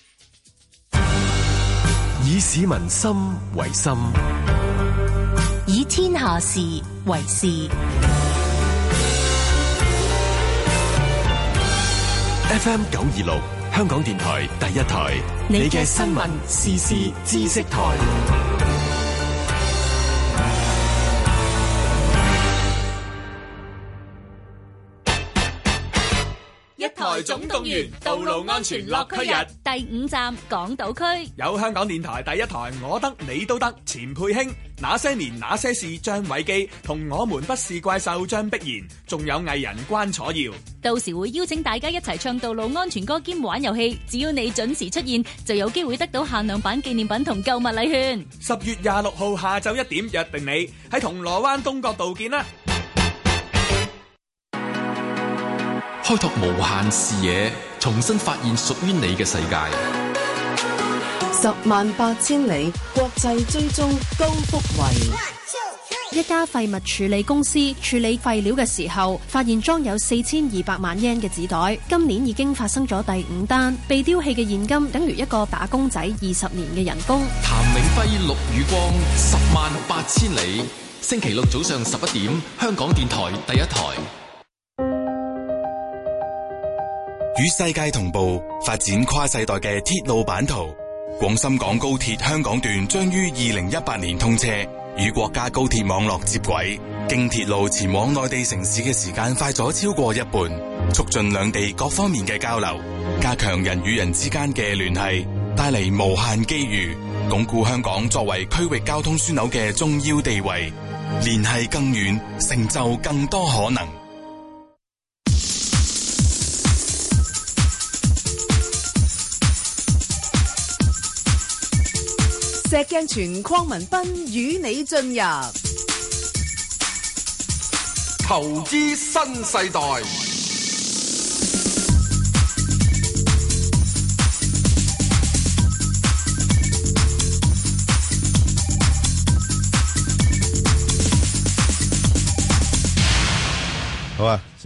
以市民心為心， 以天下事為事。 FM 926，香港電台第一台，你嘅新聞時事知識台。 一台總動員，道路安全樂區日第5站港島區， 有香港電台第一台我得你都得錢佩卿，那些年那些事張偉基同我們不是怪獸張碧然，仲有藝人關楚耀， 到時會邀請大家一齊唱道路安全歌兼玩遊戲，只要你準時出現就有機會得到限量版紀念品同購物禮券。 10月26號下晝1點約定你喺銅鑼灣東角道見啦。 開拓無限視野，重新發現屬於你嘅世界。 108000里國際追蹤高福慧。 一家廢物處理公司處理廢料嘅時候，發現裝有4200萬yen嘅紙袋。今年已經發生咗第5單，被丟棄嘅現金等於一個打工仔20年嘅人工。 譚永輝、陸宇光，108000里，星期六早上11點，香港電台第一台。 與世界同步發展跨世代嘅鐵路版圖，廣深港高鐵香港段將於2018年通車，與國家高鐵網絡接軌，經鐵路前往內地城市嘅時間快咗超過一半，促進兩地各方面嘅交流，加強人與人之間嘅聯繫，帶嚟無限機遇，鞏固香港作為區域交通樞紐嘅重要地位，聯繫更遠，成就更多可能。 石鏡泉鄺民彬與你進入投資新世代。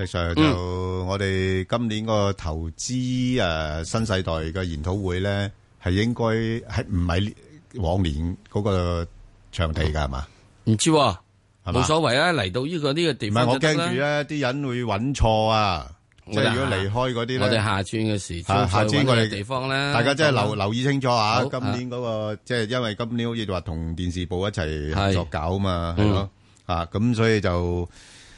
Sir 就我哋今年個投資新世代嘅研討會咧，係應該係唔係往年嗰個場地㗎係嘛？ 唔知喎，冇所謂啊！嚟到呢個地方， 唔係我驚住咧，啲人會揾錯啊！即係如果離開嗰啲咧， 我哋下轉嘅時， 下轉我哋地方咧， 大家真係留意清楚啊！今年嗰個即係因為今年好似話同電視部一齊合作搞嘛，係咯咁所以就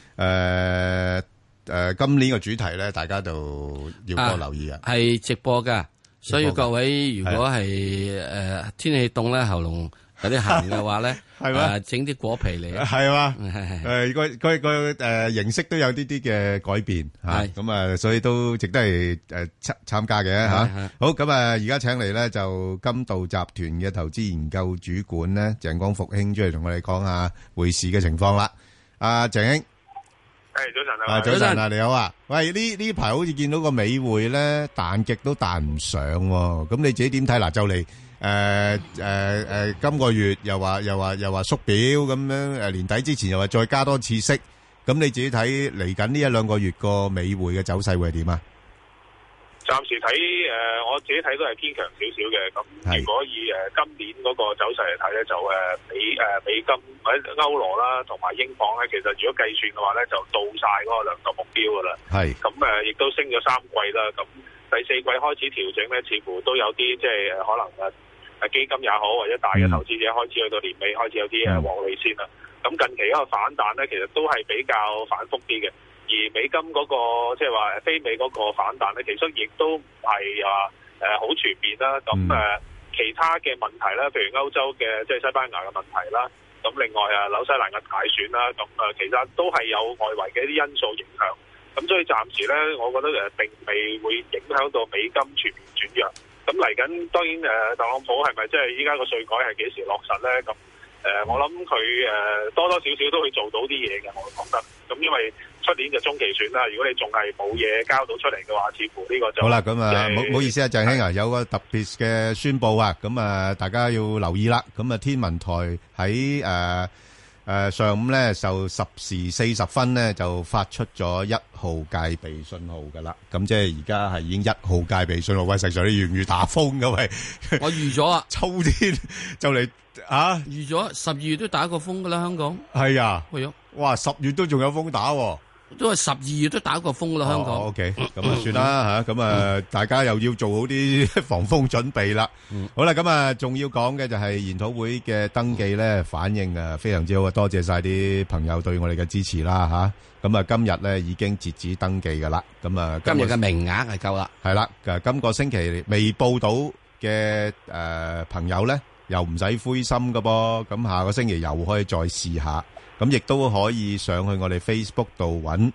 今年嘅主題咧，大家就要多留意啊！ 係直播㗎，所以各位如果係天氣凍咧，喉嚨有啲痕嘅話咧，係嘛，整啲果皮嚟， 係嘛，個形式都有啲嘅改變，係咁啊，所以都值得係參加嘅吓。好，咁啊，而家請嚟咧就金道集團嘅投資研究主管咧鄭光復兄出嚟同我哋講下匯市嘅情況啦。阿鄭兄， 早晨啊， 早晨啊，你好啊。喂，呢排好似見到個美匯咧彈極都彈唔上，咁你自己點睇嗱？就嚟今個月又話縮表咁樣，年底之前又話再加多次息，咁你自己睇嚟緊呢一兩個月個美匯嘅走勢會係點啊？ 暫時睇我自己睇都係偏強少少嘅。咁如果以今年嗰個走勢嚟睇咧，就美金或者歐羅啦，同埋英鎊咧，其實如果計算嘅話咧，就到晒嗰個量度目標噶啦。係咁亦都升咗3季啦。咁第4季開始調整咧，似乎都有啲即係可能基金也好，或者大嘅投資者開始去到年尾開始有啲獲利先啦。咁近期一個反彈咧，其實都係比較反覆啲嘅。而美金嗰個即係話非美嗰個反彈咧，其實亦都唔係話好全面啦。咁其他嘅問題啦，譬如歐洲嘅即係西班牙嘅問題啦，咁另外紐西蘭嘅大選啦，咁其實都係有外圍嘅一啲因素影響。咁所以暫時咧，我覺得並未會影響到美金全面轉弱。咁嚟緊當然特朗普係咪即係依家個稅改係幾時落實咧？咁我諗佢多多少少都會做到啲嘢嘅，我覺得。咁因為出年就中期選啦，如果你仲係冇嘢交到出嚟嘅話，似乎呢個就好啦。咁唔好意思啊，鄭兄啊，有個特別嘅宣佈啊，咁大家要留意啦。咁天文台喺上午咧就10時40分咧就發出咗1號戒備信號噶啦。咁即係而家係已經1號戒備信號。喂，實在你預唔預打風噶？喂， 我預咗啊， 秋天就嚟預咗12月都打過風噶啦，香港係啊， 係啊， 哇10月都仲有風打喎。 都係12月都打過風啦，香港。 OK， 咁算啦吓，咁大家又要做好啲防風準備啦。好啦，咁仲要講嘅就係研討會嘅登記咧，反應非常之好啊！多謝晒啲朋友對我哋嘅支持啦吓。咁今日咧已經截止登記噶啦。咁今日嘅名額係夠啦。係啦， 今個星期未報到嘅朋友咧，又唔使灰心噶噃。咁下個星期又可以再試下。咁亦都可以上去我哋 Facebook 度揾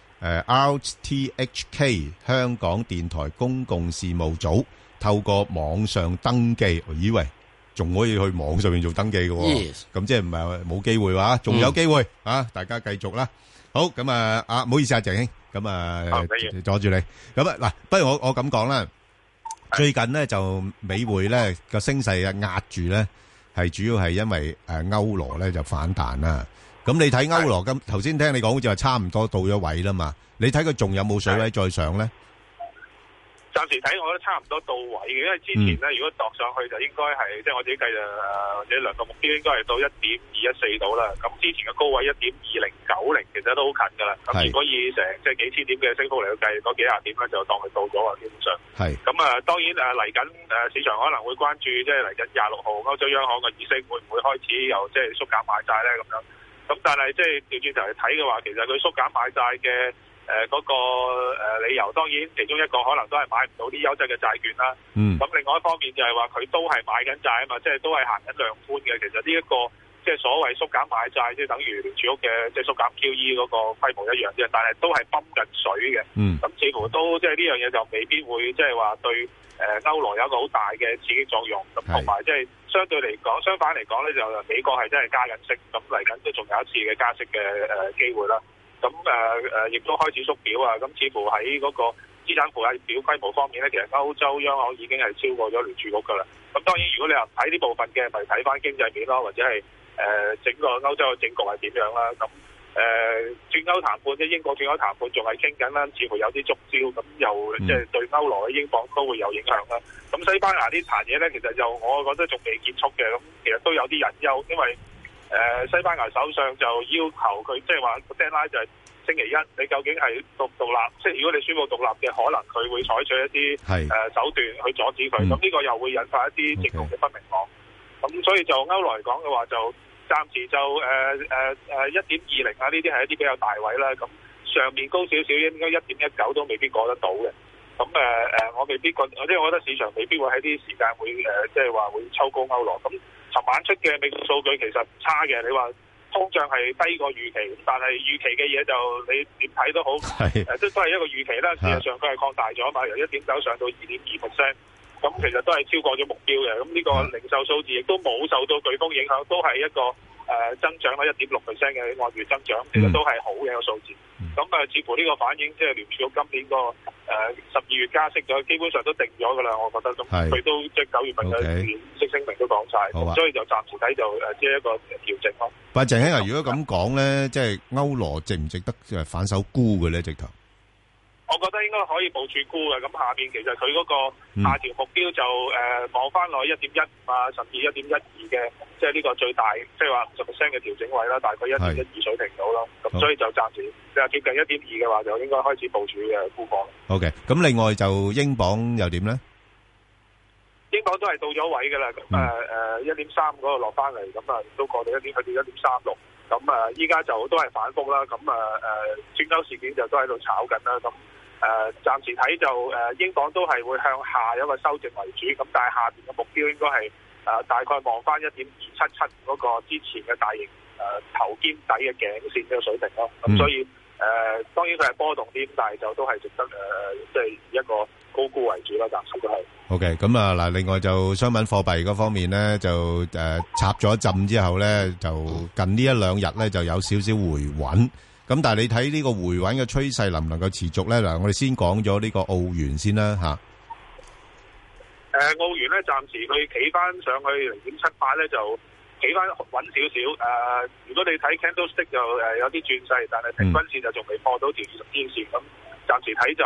RTHK 香港電台公共事務組，透過網上登記。我以為仲可以去網上面做登記嘅喎，咁即係唔係冇機會話，仲有機會大家繼續啦。好，咁唔好意思啊，鄭兄，咁阻住你。咁嗱，不如我咁講啦。最近呢就美匯咧個升勢壓住咧，係主要係因為歐羅咧就反彈啦。咁你睇歐羅咁，頭先聽你講好似話差唔多到咗位啦嘛？你睇佢仲有冇水位再上咧？ 暫時睇我覺得差唔多到位嘅，因為之前咧如果度上去就應該係即係我自己計或者量度目標應該係到1.214到啦。咁之前嘅高位1.2090其實都好近㗎啦。咁如果以成即係幾千點嘅升幅嚟到計，嗰幾廿點咧就當佢到咗啊，基本上。係。咁當然嚟緊市場可能會關注即係嚟緊26號歐洲央行嘅議息會唔會開始又即係縮減買債咧咁樣。咁但係即係調轉頭嚟睇嘅話，其實佢縮減買債嘅嗰個理由，當然其中一個可能都係買唔到啲優質嘅債券啦。咁另外一方面就係話佢都係買緊債啊嘛，即係都係行緊量寬嘅。其實呢一個即係所謂縮減買債，即係等於聯儲局嘅即係縮減 QE 嗰個規模一樣啫，但係都係泵緊水嘅。咁似乎都即係呢樣嘢就未必會即係話對歐羅有一個好大嘅刺激作用。咁同埋即係相反嚟講咧，就美國係真係加緊息，咁嚟緊都仲有一次嘅加息嘅機會啦。咁亦都開始縮表啊！咁似乎喺嗰個資產負債表規模方面咧，其實歐洲央行已經係超過咗聯儲局噶啦。咁當然，如果你話睇呢部分嘅，咪睇翻經濟面咯，或者係整個歐洲嘅政局係點樣啦。咁脫歐談判，即係英國脫歐談判仲係傾緊啦，似乎有啲觸礁，咁又即係對歐羅嘅英鎊都會有影響啦。咁西班牙呢壇嘢咧，其實就我覺得仲未結束嘅，咁其實都有啲隱憂，因為西班牙首相就要求佢即係話個 deadline 就係星期一，你究竟係獨立，即係如果你宣布獨立嘅，可能佢會採取一啲手段去阻止佢，咁呢個又會引發一啲政局嘅不明朗。咁所以就歐羅嚟講嘅話，就暫時就1.20啊，呢啲係一啲比較大位啦。咁上面高少少應該1.19都未必過得到嘅。咁我未必覺，即係我覺得市場未必會喺啲時間會即係話會抽高歐羅。咁尋晚出嘅美國數據其實唔差嘅，你話通脹係低過預期，但係預期嘅嘢就你點睇都好，都係一個預期啦。事實上佢係擴大咗嘛，由 1.9 上到 2.2%， 咁其實都係超過咗目標嘅。咁呢個零售數字亦都冇受到颶風影響，都係一個增長咗 1.6% 嘅按月增長，其實都係好嘅一個數字。咁似乎呢個反映即係聯儲局今年個12月加息咗，基本上都定咗㗎啦。我覺得咁佢都即係9月份嘅議息聲明都講晒，所以就暫時睇就即係一個調整咯。 但係鄭兄啊，如果咁講咧，即係歐羅值唔值得反手沽嘅咧？直頭？ 我覺得應該可以部署沽嘅，咁下邊其實佢嗰個下調目標就望翻落 1.15 啊，甚至 1.12 嘅，即係呢個最大，即係話50% 嘅調整位啦，大概 1.12 水平到咯。咁所以就暫時你話接近 1.2 嘅話，就應該開始部署嘅沽貨。 OK， 咁另外就英鎊又點咧？ 英鎊都係到咗位㗎啦，咁1.3嗰個落翻嚟，咁都過到去到 1.36。咁依家就都係反覆啦，咁脫歐事件就都喺度炒緊啦，咁暫時睇就英鎊都係會向下一個修正為主，咁但係下邊嘅目標應該係大概望翻 1.277 嗰個之前嘅大型頭肩底嘅頸線嘅水平咯，咁所以當然佢係波動啲，但係就都係值得即係一個高估為主啦，暫時都係。 OK， 咁啊嗱，另外就商品貨幣嗰方面咧，就插咗一陣之後咧，就近呢一兩日咧就有少少回穩。咁但係你睇呢個回穩嘅趨勢能唔能夠持續咧？嗱，我哋先講咗呢個澳元先啦嚇。 澳元咧暫時佢企翻上去 0.78 咧就企翻穩少少。如果你睇 candlestick 就有啲轉勢，但係平均線就仲未破到條20天線咁。暫時睇就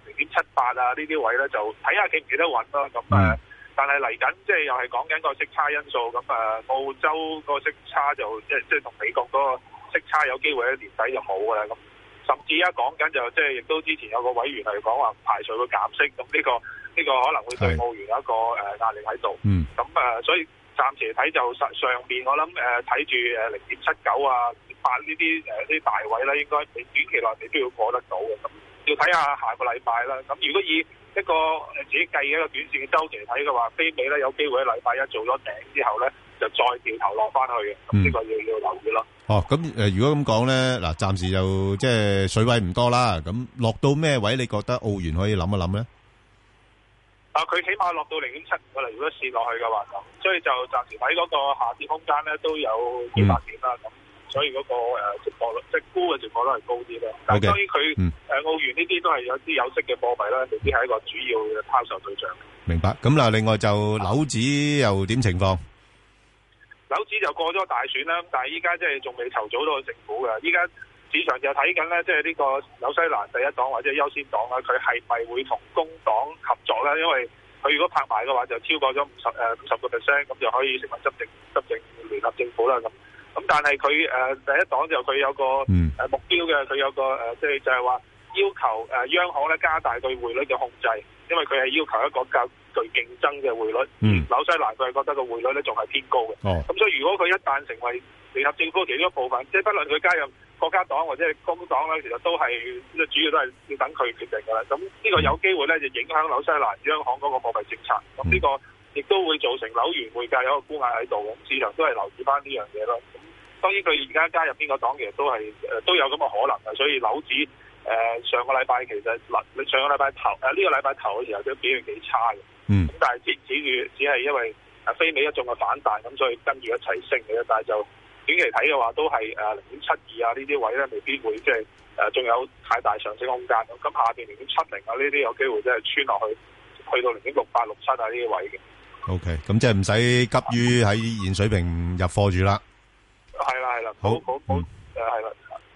0.78啊，呢啲位咧就睇下企唔企得穩咯。咁但係嚟緊即係又係講緊個息差因素。咁澳洲個息差就即係同美國嗰個息差有機會喺年底就冇㗎啦。咁甚至而家講緊就即係亦都之前有個委員係講話唔排除會減息。咁呢個可能會對澳元有一個壓力喺度。咁所以暫時睇就上邊我諗睇住0.79啊8呢啲大位啦，應該短期內你都要過得到嘅。咁要睇下下個禮拜啦。咁如果以一個自己計嘅一個短線嘅週期嚟睇嘅話，非美咧有機會喺禮拜一做咗頂之後咧，就再掉頭落翻去嘅。咁呢個要留意咯。 咁如果咁講咧，嗱，暫時就即係水位唔多啦。咁落到咩位？你覺得澳元可以諗一諗咧？ 佢起碼落到 0.75 㗎啦。如果試落去嘅話，咁所以就暫時睇嗰個下跌空間咧都有幾百點啦。咁所以嗰個值博率，即係沽嘅值博率係高啲啦。但係當然佢澳元呢啲都係有啲有息嘅貨幣啦，未必係一個主要嘅拋售對象。 明白。咁嗱，另外就樓指又點情況？ 樓指就過咗大選啦，但係依家即係仲未籌組到個政府嘅。依家市場就睇緊咧，即係呢個紐西蘭第一黨或者優先黨啦，佢係咪會同工黨合作咧？因為佢如果拍埋嘅話，就超過咗50%，咁就可以成為執政聯合政府啦。咁但係佢第一黨就佢有個目標嘅，佢有個即係就係話要求央行咧加大對匯率嘅控制，因為佢係要求一個較具競爭嘅匯率。紐西蘭佢係覺得個匯率咧仲係偏高嘅。咁所以如果佢一旦成為聯合政府其中一部分，即係不論佢加入國家黨或者係工黨咧，其實都係主要都係要等佢決定㗎啦。咁呢個有機會咧就影響紐西蘭央行嗰個貨幣政策。咁呢個亦都會造成紐元匯價有一個沽壓喺度。咁市場都係留意翻呢樣嘢咯。當然佢而家加入邊個黨其實都係都有咁嘅可能嘅，所以樓指上個禮拜其實上個禮拜頭呢個禮拜頭嘅時候都表現幾差嘅。咁但係只係因為非美一眾嘅反彈，咁所以跟住一齊升嘅。但係就短期睇嘅話，都係0.72啊呢啲位咧，未必會即係仲有太大上升空間。咁下邊0.70啊呢啲有機會即係穿落去到0.68、67啊呢啲位嘅。 OK， 咁即係唔使急於喺現水平入貨住啦。 係啦，好，係啦。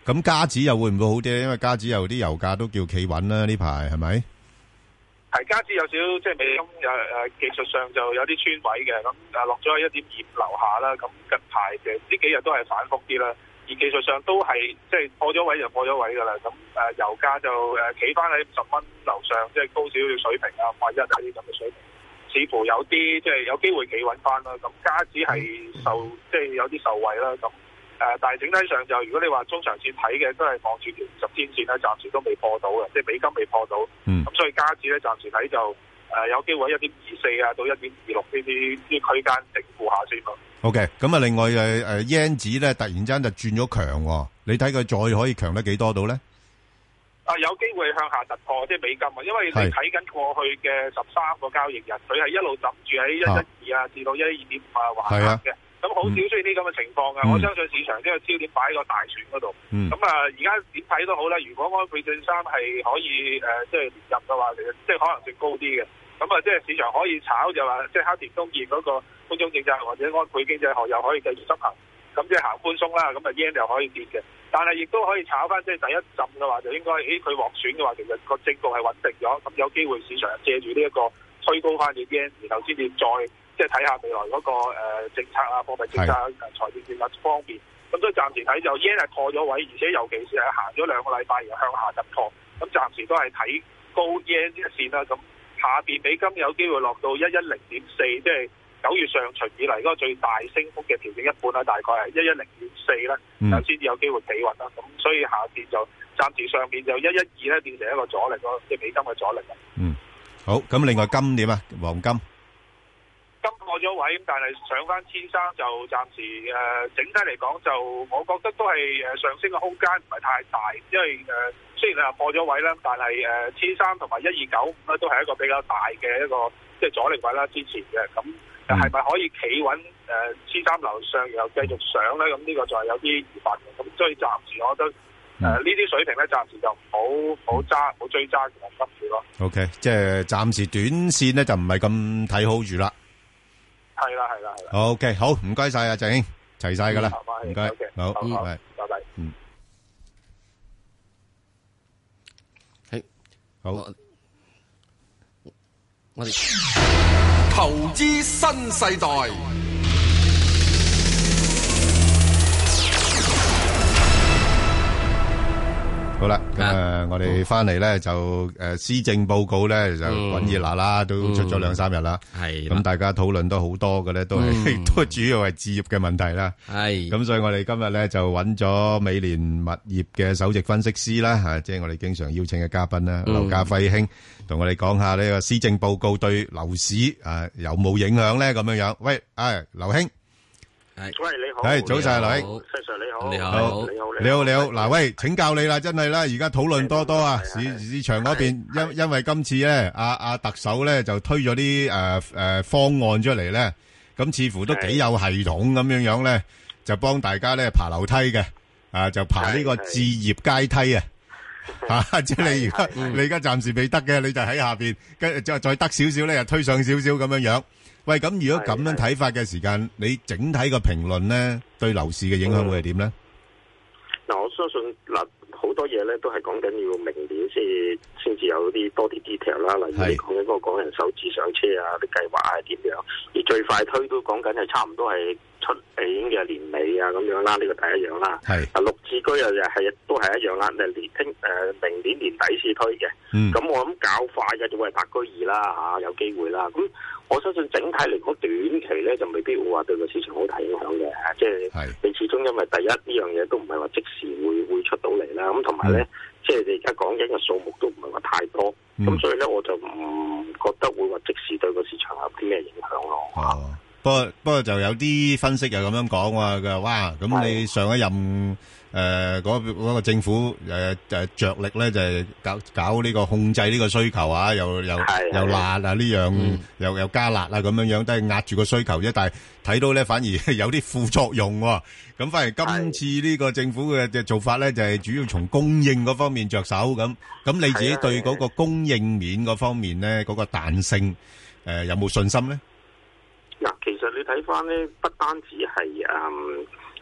咁加指又會唔會好啲？因為加指有啲油價都叫企穩啦，呢排係咪？ 係加指有少即係美金技術上就有啲穿位嘅，咁落咗喺1.25樓下啦。咁近排嘅呢幾日都係反覆啲啦，而技術上都係即係破咗位就破咗位㗎啦。咁油價就企翻喺50蚊樓上，即係高少少水平啊，51啊啲咁嘅水平，似乎有啲即係有機會企穩翻啦。咁加指係即係有啲受惠啦。咁但係整體上就如果你話中長線睇嘅，都係望住條10天線咧，暫時都未破到嘅，即係美金未破到。咁所以加指咧暫時睇就有機會1.24啊到1.26呢啲區間整固下先咯。 OK， 咁啊，另外yen 指咧突然間就轉咗強，你睇佢再可以強得幾多度咧？ 有機會向下突破，即係美金啊，因為你睇緊過去嘅13個交易日，佢係一路枕住喺112啊至到112.5啊橫行嘅。咁好少出現啲咁嘅情況嘅，我相信市場將個焦點擺喺個大選嗰度。咁而家點睇都好啦，如果安倍晉三係可以即係連任嘅話，其實即係可能性高啲嘅。咁即係市場可以炒就話，即係黑田東彥嗰個寬鬆政策或者安倍經濟學又可以繼續執行，咁即係行寬鬆啦，咁yen又可以跌嘅。但係亦都可以炒翻，即係第一陣嘅話就應該，佢獲選嘅話，其實個政局係穩定咗，咁有機會市場借住呢一個推高翻嘅yen，然後先至再即係睇下未來嗰個政策啊、貨幣政策、財政政策方面。咁所以暫時睇就yen係破咗位，而且尤其是係行咗2個禮拜而向下突破，咁暫時都係睇高yen呢一線啦。咁下邊美金有機會落到110.4，即係9月上旬以嚟嗰個最大升幅嘅調整一半啦，大概係110.4啦，先至有機會企穩啦。咁所以下邊就暫時上邊就112咧變成一個阻力咯，即係美金嘅阻力啦。 好，咁另外金點啊？黃金破咗位，咁但係上翻1300就暫時整體嚟講就我覺得都係上升嘅空間唔係太大，因為雖然你話破咗位啦，但係1300同埋1295咧都係一個比較大嘅一個即係阻力位啦，之前嘅咁係咪可以企穩1300樓上然後繼續上咧？咁呢個就係有啲疑問嘅，咁所以暫時我覺得呢啲水平咧暫時就唔好揸，唔好追揸同埋執住咯。 OK， 即係暫時短線咧就唔係咁睇好住啦。 係啦。 OK， 好，唔該晒啊，鄭英，齊晒噶啦，唔該，好， 拜拜。 好， 我哋投資新世代。 好啦，我哋翻嚟咧就施政報告咧就滾熱辣啦，都出咗2-3日啦。係咁，大家討論都好多嘅咧，都主要係置業嘅問題啦。係咁，所以我哋今日咧就揾咗美聯物業嘅首席分析師啦，即係我哋經常邀請嘅嘉賓啦，劉嘉輝兄同我哋講下呢個施政報告對樓市有冇影響咧？咁樣樣，喂，劉兄。 喂，你好。 係早晨，劉兄。 Sir 你好。 你好。嗱，喂，請教你啦，真係啦，而家討論多啊，市場嗰邊，因為今次咧，阿特首咧就推咗啲方案出嚟咧，咁似乎都幾有系統咁樣樣咧，就幫大家咧爬樓梯嘅，就爬呢個置業階梯啊，即係你而家暫時未得嘅，你就喺下邊，跟住再得少少咧，又推上少少咁樣樣。喂，咁如果咁樣睇法嘅時間，你整體個評論咧，對樓市嘅影響會係點咧？ 嗱，我相信好多嘢咧都係講緊要明年先至有多啲 detail 啦。例如你講緊嗰個港人首置上車啊，啲計劃係點樣？而最快推都講緊係差唔多係出年嘅年尾啊咁樣啦，呢個第一樣啦。係綠置居都係一樣啦，明年年底先推嘅。咁我諗較快嘅就會係白居二啦，有機會啦。咁我相信整體嚟講，短期咧就未必會話對個市場好大影響嘅，即係你始終因為第一呢樣嘢都唔係話即時會出到嚟啦，咁同埋咧，即係你而家講緊嘅數目都唔係話太多，咁所以咧我就唔覺得會話即時對個市場有啲咩影響咯。 不過就有啲分析又咁樣講喎，佢話哇，咁你上一任嗰個政府着力咧就係搞呢個控制呢個需求啊，又辣啊呢樣，又加辣啊咁樣樣，都係壓住個需求啫。但係睇到咧反而有啲副作用喎。咁反而今次呢個政府嘅做法咧就係主要從供應嗰方面着手咁。咁你自己對嗰個供應面嗰方面咧嗰個彈性有冇信心咧？ 嗱，其實你睇翻咧，不單止係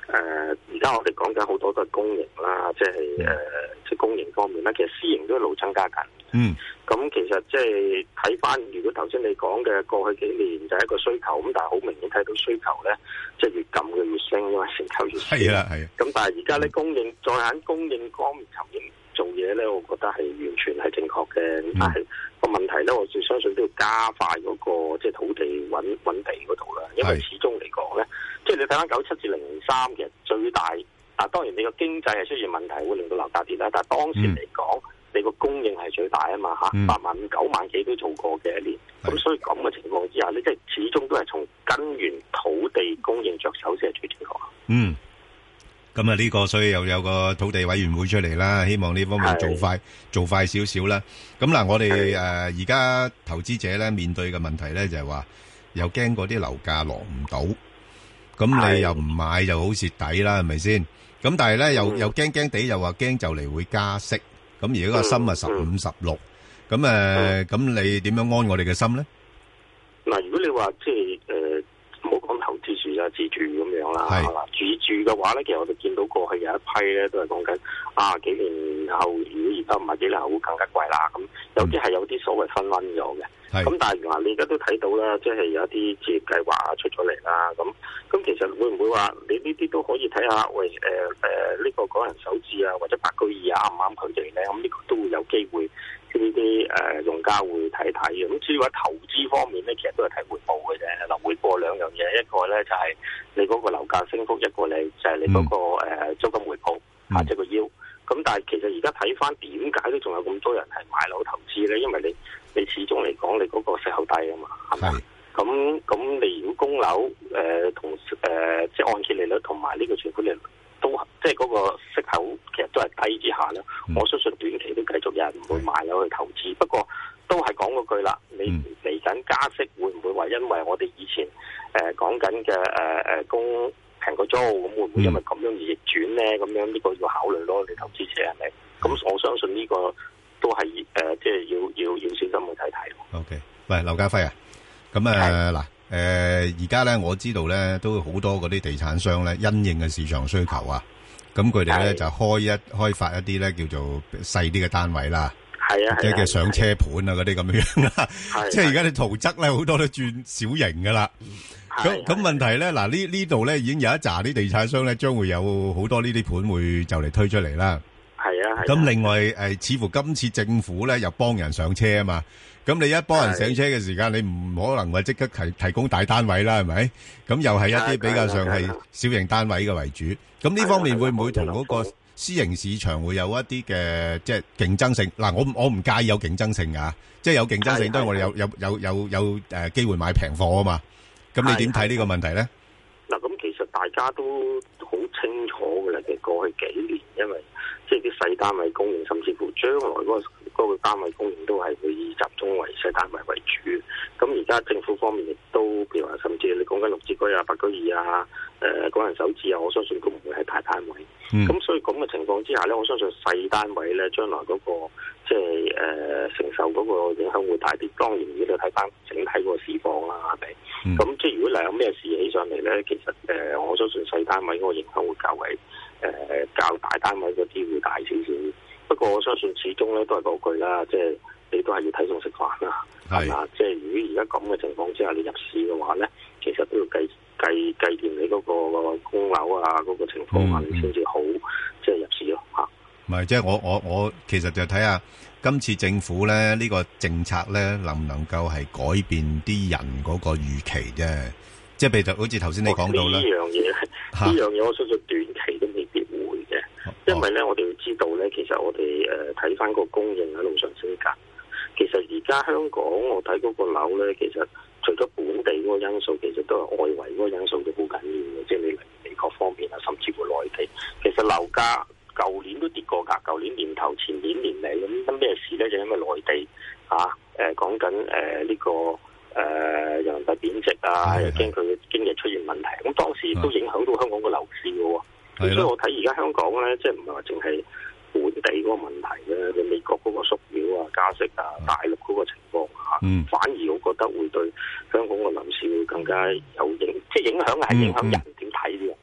而家我哋講緊好多都係公營啦，即係即係公營方面啦，其實私營都一路增加緊。咁其實即係睇翻，如果頭先你講嘅過去幾年就係一個需求，咁但係好明顯睇到需求咧，即係越撳嘅越升，因為成交越少。係啊。咁但係而家咧供應再喺供應方面層面做嘢咧，我覺得係完全係正確嘅。但係個問題咧，我最相信都要加快嗰個即係土地揾地嗰度啦，因為始終嚟講咧，即係你睇翻97至03其實最大當然你個經濟係出現問題，會令到樓價跌啦。但係當時嚟講，你個供應係最大啊嘛嚇，8萬5、9萬幾都做過嘅一年。咁所以咁嘅情況之下，你即係始終都係從根源土地供應着手先係最正確。 咁啊呢個所以又有個土地委員會出嚟啦，希望呢方面做快少少啦。咁嗱，我哋而家投資者咧面對嘅問題咧就係話，又驚嗰啲樓價落唔到，咁你又唔買就好蝕底啦，係咪先？咁但係咧又驚地，又話驚就嚟會加息。咁而家個心啊15、16，咁你點樣安我哋嘅心咧？ 嗱，如果你話即係唔好講投資住啊，自住咁樣啦，自住嘅話咧，其實我哋見到過去有一批咧都係講緊幾年後，如果而家唔係幾年後會更加貴啦。咁有啲係有啲所謂分溫咗嘅。咁但係嗱，你而家都睇到啦，即係有一啲置業計劃出咗嚟啦。咁其實會唔會話你呢啲都可以睇下？喂，呢個港人首置啊，或者白居二啊，啱唔啱佢哋咧？咁呢個都會有機會，呢啲用家會睇睇嘅。咁至於話投資方面咧，其實都係睇回報嘅啫。嗱，回報兩樣嘢，一個咧就係你嗰個樓價升幅，一個咧就係你嗰個租金回報即係個腰。咁但係其實而家睇翻點解都仲有咁多人係買樓投資咧？因為你始終嚟講，你嗰個息口低啊嘛，係咪？咁你如果供樓同即係按揭利率同埋呢個存款利率都即係嗰個息口其實都係低之下咧，我相信短期都繼續有人唔會買樓去投資。不過都係講嗰句啦，你嚟緊加息會唔會話因為我哋以前講緊嘅供平過租，咁會唔會因為咁樣而逆轉咧？咁樣呢個要考慮咯，你投資者係咪？咁我相信呢個都係即係要小心去睇睇。 OK， 喂，劉家輝啊，咁嗱而家咧我知道咧都好多嗰啲地產商咧因應嘅市場需求啊，咁佢哋咧就開發一啲咧叫做細啲嘅單位啦，即係上車盤啊嗰啲咁樣啦，即係而家啲圖則咧好多都轉小型噶啦。咁問題咧，嗱呢度咧已經有一紮啲地產商咧，將會有好多呢啲盤會就嚟推出嚟啦。咁另外似乎今次政府咧又幫人上車啊嘛。咁你一幫人上車嘅時間，你唔可能話即刻提供大單位啦，係咪？咁又係一啲比較上係小型單位嘅為主。咁呢方面會唔會同嗰個私營市場會有一啲嘅即係競爭性？嗱，我唔介意有競爭性㗎，即係有競爭性，當然我哋有機會買平貨啊嘛。咁你點睇呢個問題咧？ 嗱，咁其實大家都好清楚嘅啦，其實過去幾年，因為即係啲細單位供應，甚至乎將來嗰個單位供應都係會以集中為細單位為主。咁而家政府方面亦都，譬如話，甚至你講緊綠置居啊、白居二啊、港人首置啊，我相信都唔會係大單位。咁所以咁嘅情況之下咧，我相信細單位咧，將來嗰個即係承受嗰個影響會大啲。當然，如果你睇翻整體嗰個市況啦，係咪？咁即係如果嚟有咩事起上嚟咧，其實我相信細單位嗰個影響會較為較大單位嗰啲會大少少。不過我相信始終咧都係嗰句啦，即係你都係要睇餸食飯啦，係嘛？即係如果而家咁嘅情況之下，你入市嘅話咧，其實都要計掂你嗰個供樓啊嗰個情況啊，你先至好即係入市咯嚇。 唔係，即係我其實就睇下今次政府咧呢個政策咧能唔能夠係改變啲人嗰個預期啫。即係譬如好似頭先你講到啦， 呢樣嘢我相信短期都未必會嘅，因為咧我哋要知道咧，其實我哋睇翻個供應喺路上升緊。其實而家香港我睇嗰個樓咧，其實除咗本地嗰個因素，其實都係外圍嗰個因素都好緊要嘅，即係你嚟美國方面啊，甚至乎內地。其實樓價舊年都跌過㗎，舊年年頭、前年年尾咁咩事咧？就因為內地講緊呢個人民幣貶值啊，又驚佢嘅經濟出現問題，咁當時都影響到香港個樓市嘅喎。所以我睇而家香港咧，即係唔係話淨係本地嗰個問題咧，你美國嗰個縮表啊、加息啊、大陸嗰個情況反而我覺得會對香港個樓市會更加有即係影響係影響人點睇呢樣嘢啊。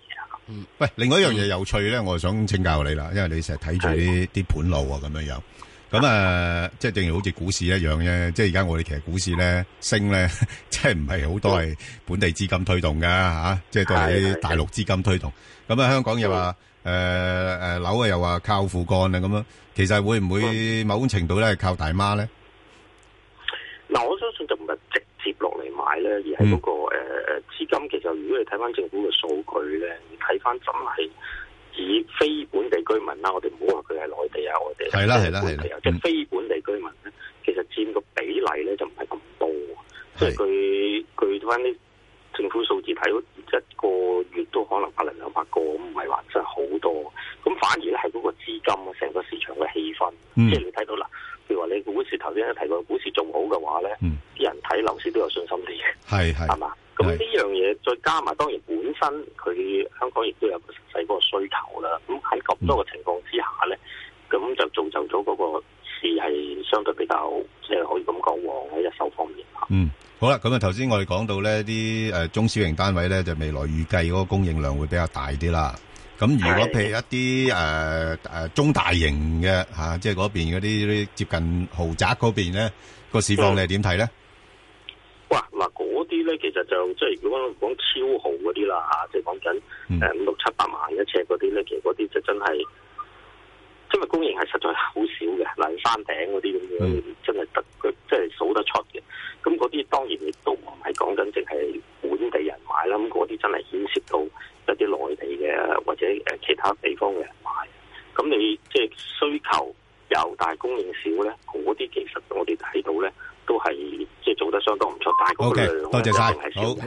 喂，另外一樣嘢有趣咧，我想請教你啦，因為你成日睇住啲盤路啊咁樣樣。咁即係正如好似股市一樣啫。即係而家我哋其實股市咧升咧，即係唔係好多係本地資金推動噶吓，即係都係啲大陸資金推動。咁香港又話樓又話靠父幹啊咁樣。其實會唔會某種程度咧係靠大媽咧？ 嗱，我相信就唔係直接落嚟買咧，而係嗰個資金。其實如果你睇翻政府嘅數據咧，你睇翻真係以非本地居民啦，我哋唔好話佢係內地啊，我哋係啦， 即係非本地居民咧，其實佔個比例咧就唔係咁多。即係據翻啲政府數字睇，一個月都可能100-200個，唔係話真係好多。咁反而咧係嗰個資金啊，成個市場嘅氣氛，即係你睇到啦。譬如話你股市頭先提過，股市仲好嘅話咧，啲人睇樓市都有信心啲嘅，係嘛？咁呢樣嘢再加埋，當然本身佢香港亦都有個實際嗰個需求啦。咁喺咁多嘅情況之下咧，咁就造就咗嗰個市係相對比較即係可以咁講旺喺一手方面嚇。 好啦，咁啊頭先我哋講到咧啲中小型單位咧，就未來預計嗰個供應量會比較大啲啦。咁如果譬如一啲中大型嘅即係嗰邊嗰啲接近豪宅嗰邊咧，個市況你係點睇咧？ 哇！嗱，嗰啲咧其實就即係如果講超豪嗰啲啦嚇，即係講緊500-700萬一尺嗰啲咧，其實嗰啲就真係，因為供應係實在好少嘅，例如山頂嗰啲咁樣，真係得佢即係數得出嘅。咁嗰啲當然亦都唔係講緊淨係本地人買啦，咁嗰啲真係牽涉到一啲內地嘅或者其他地方嘅人買。咁你即係需求有，但係供應少咧，嗰啲其實我哋睇到咧都係即係做得相當唔錯，但係嗰個量咧一定係少嘅。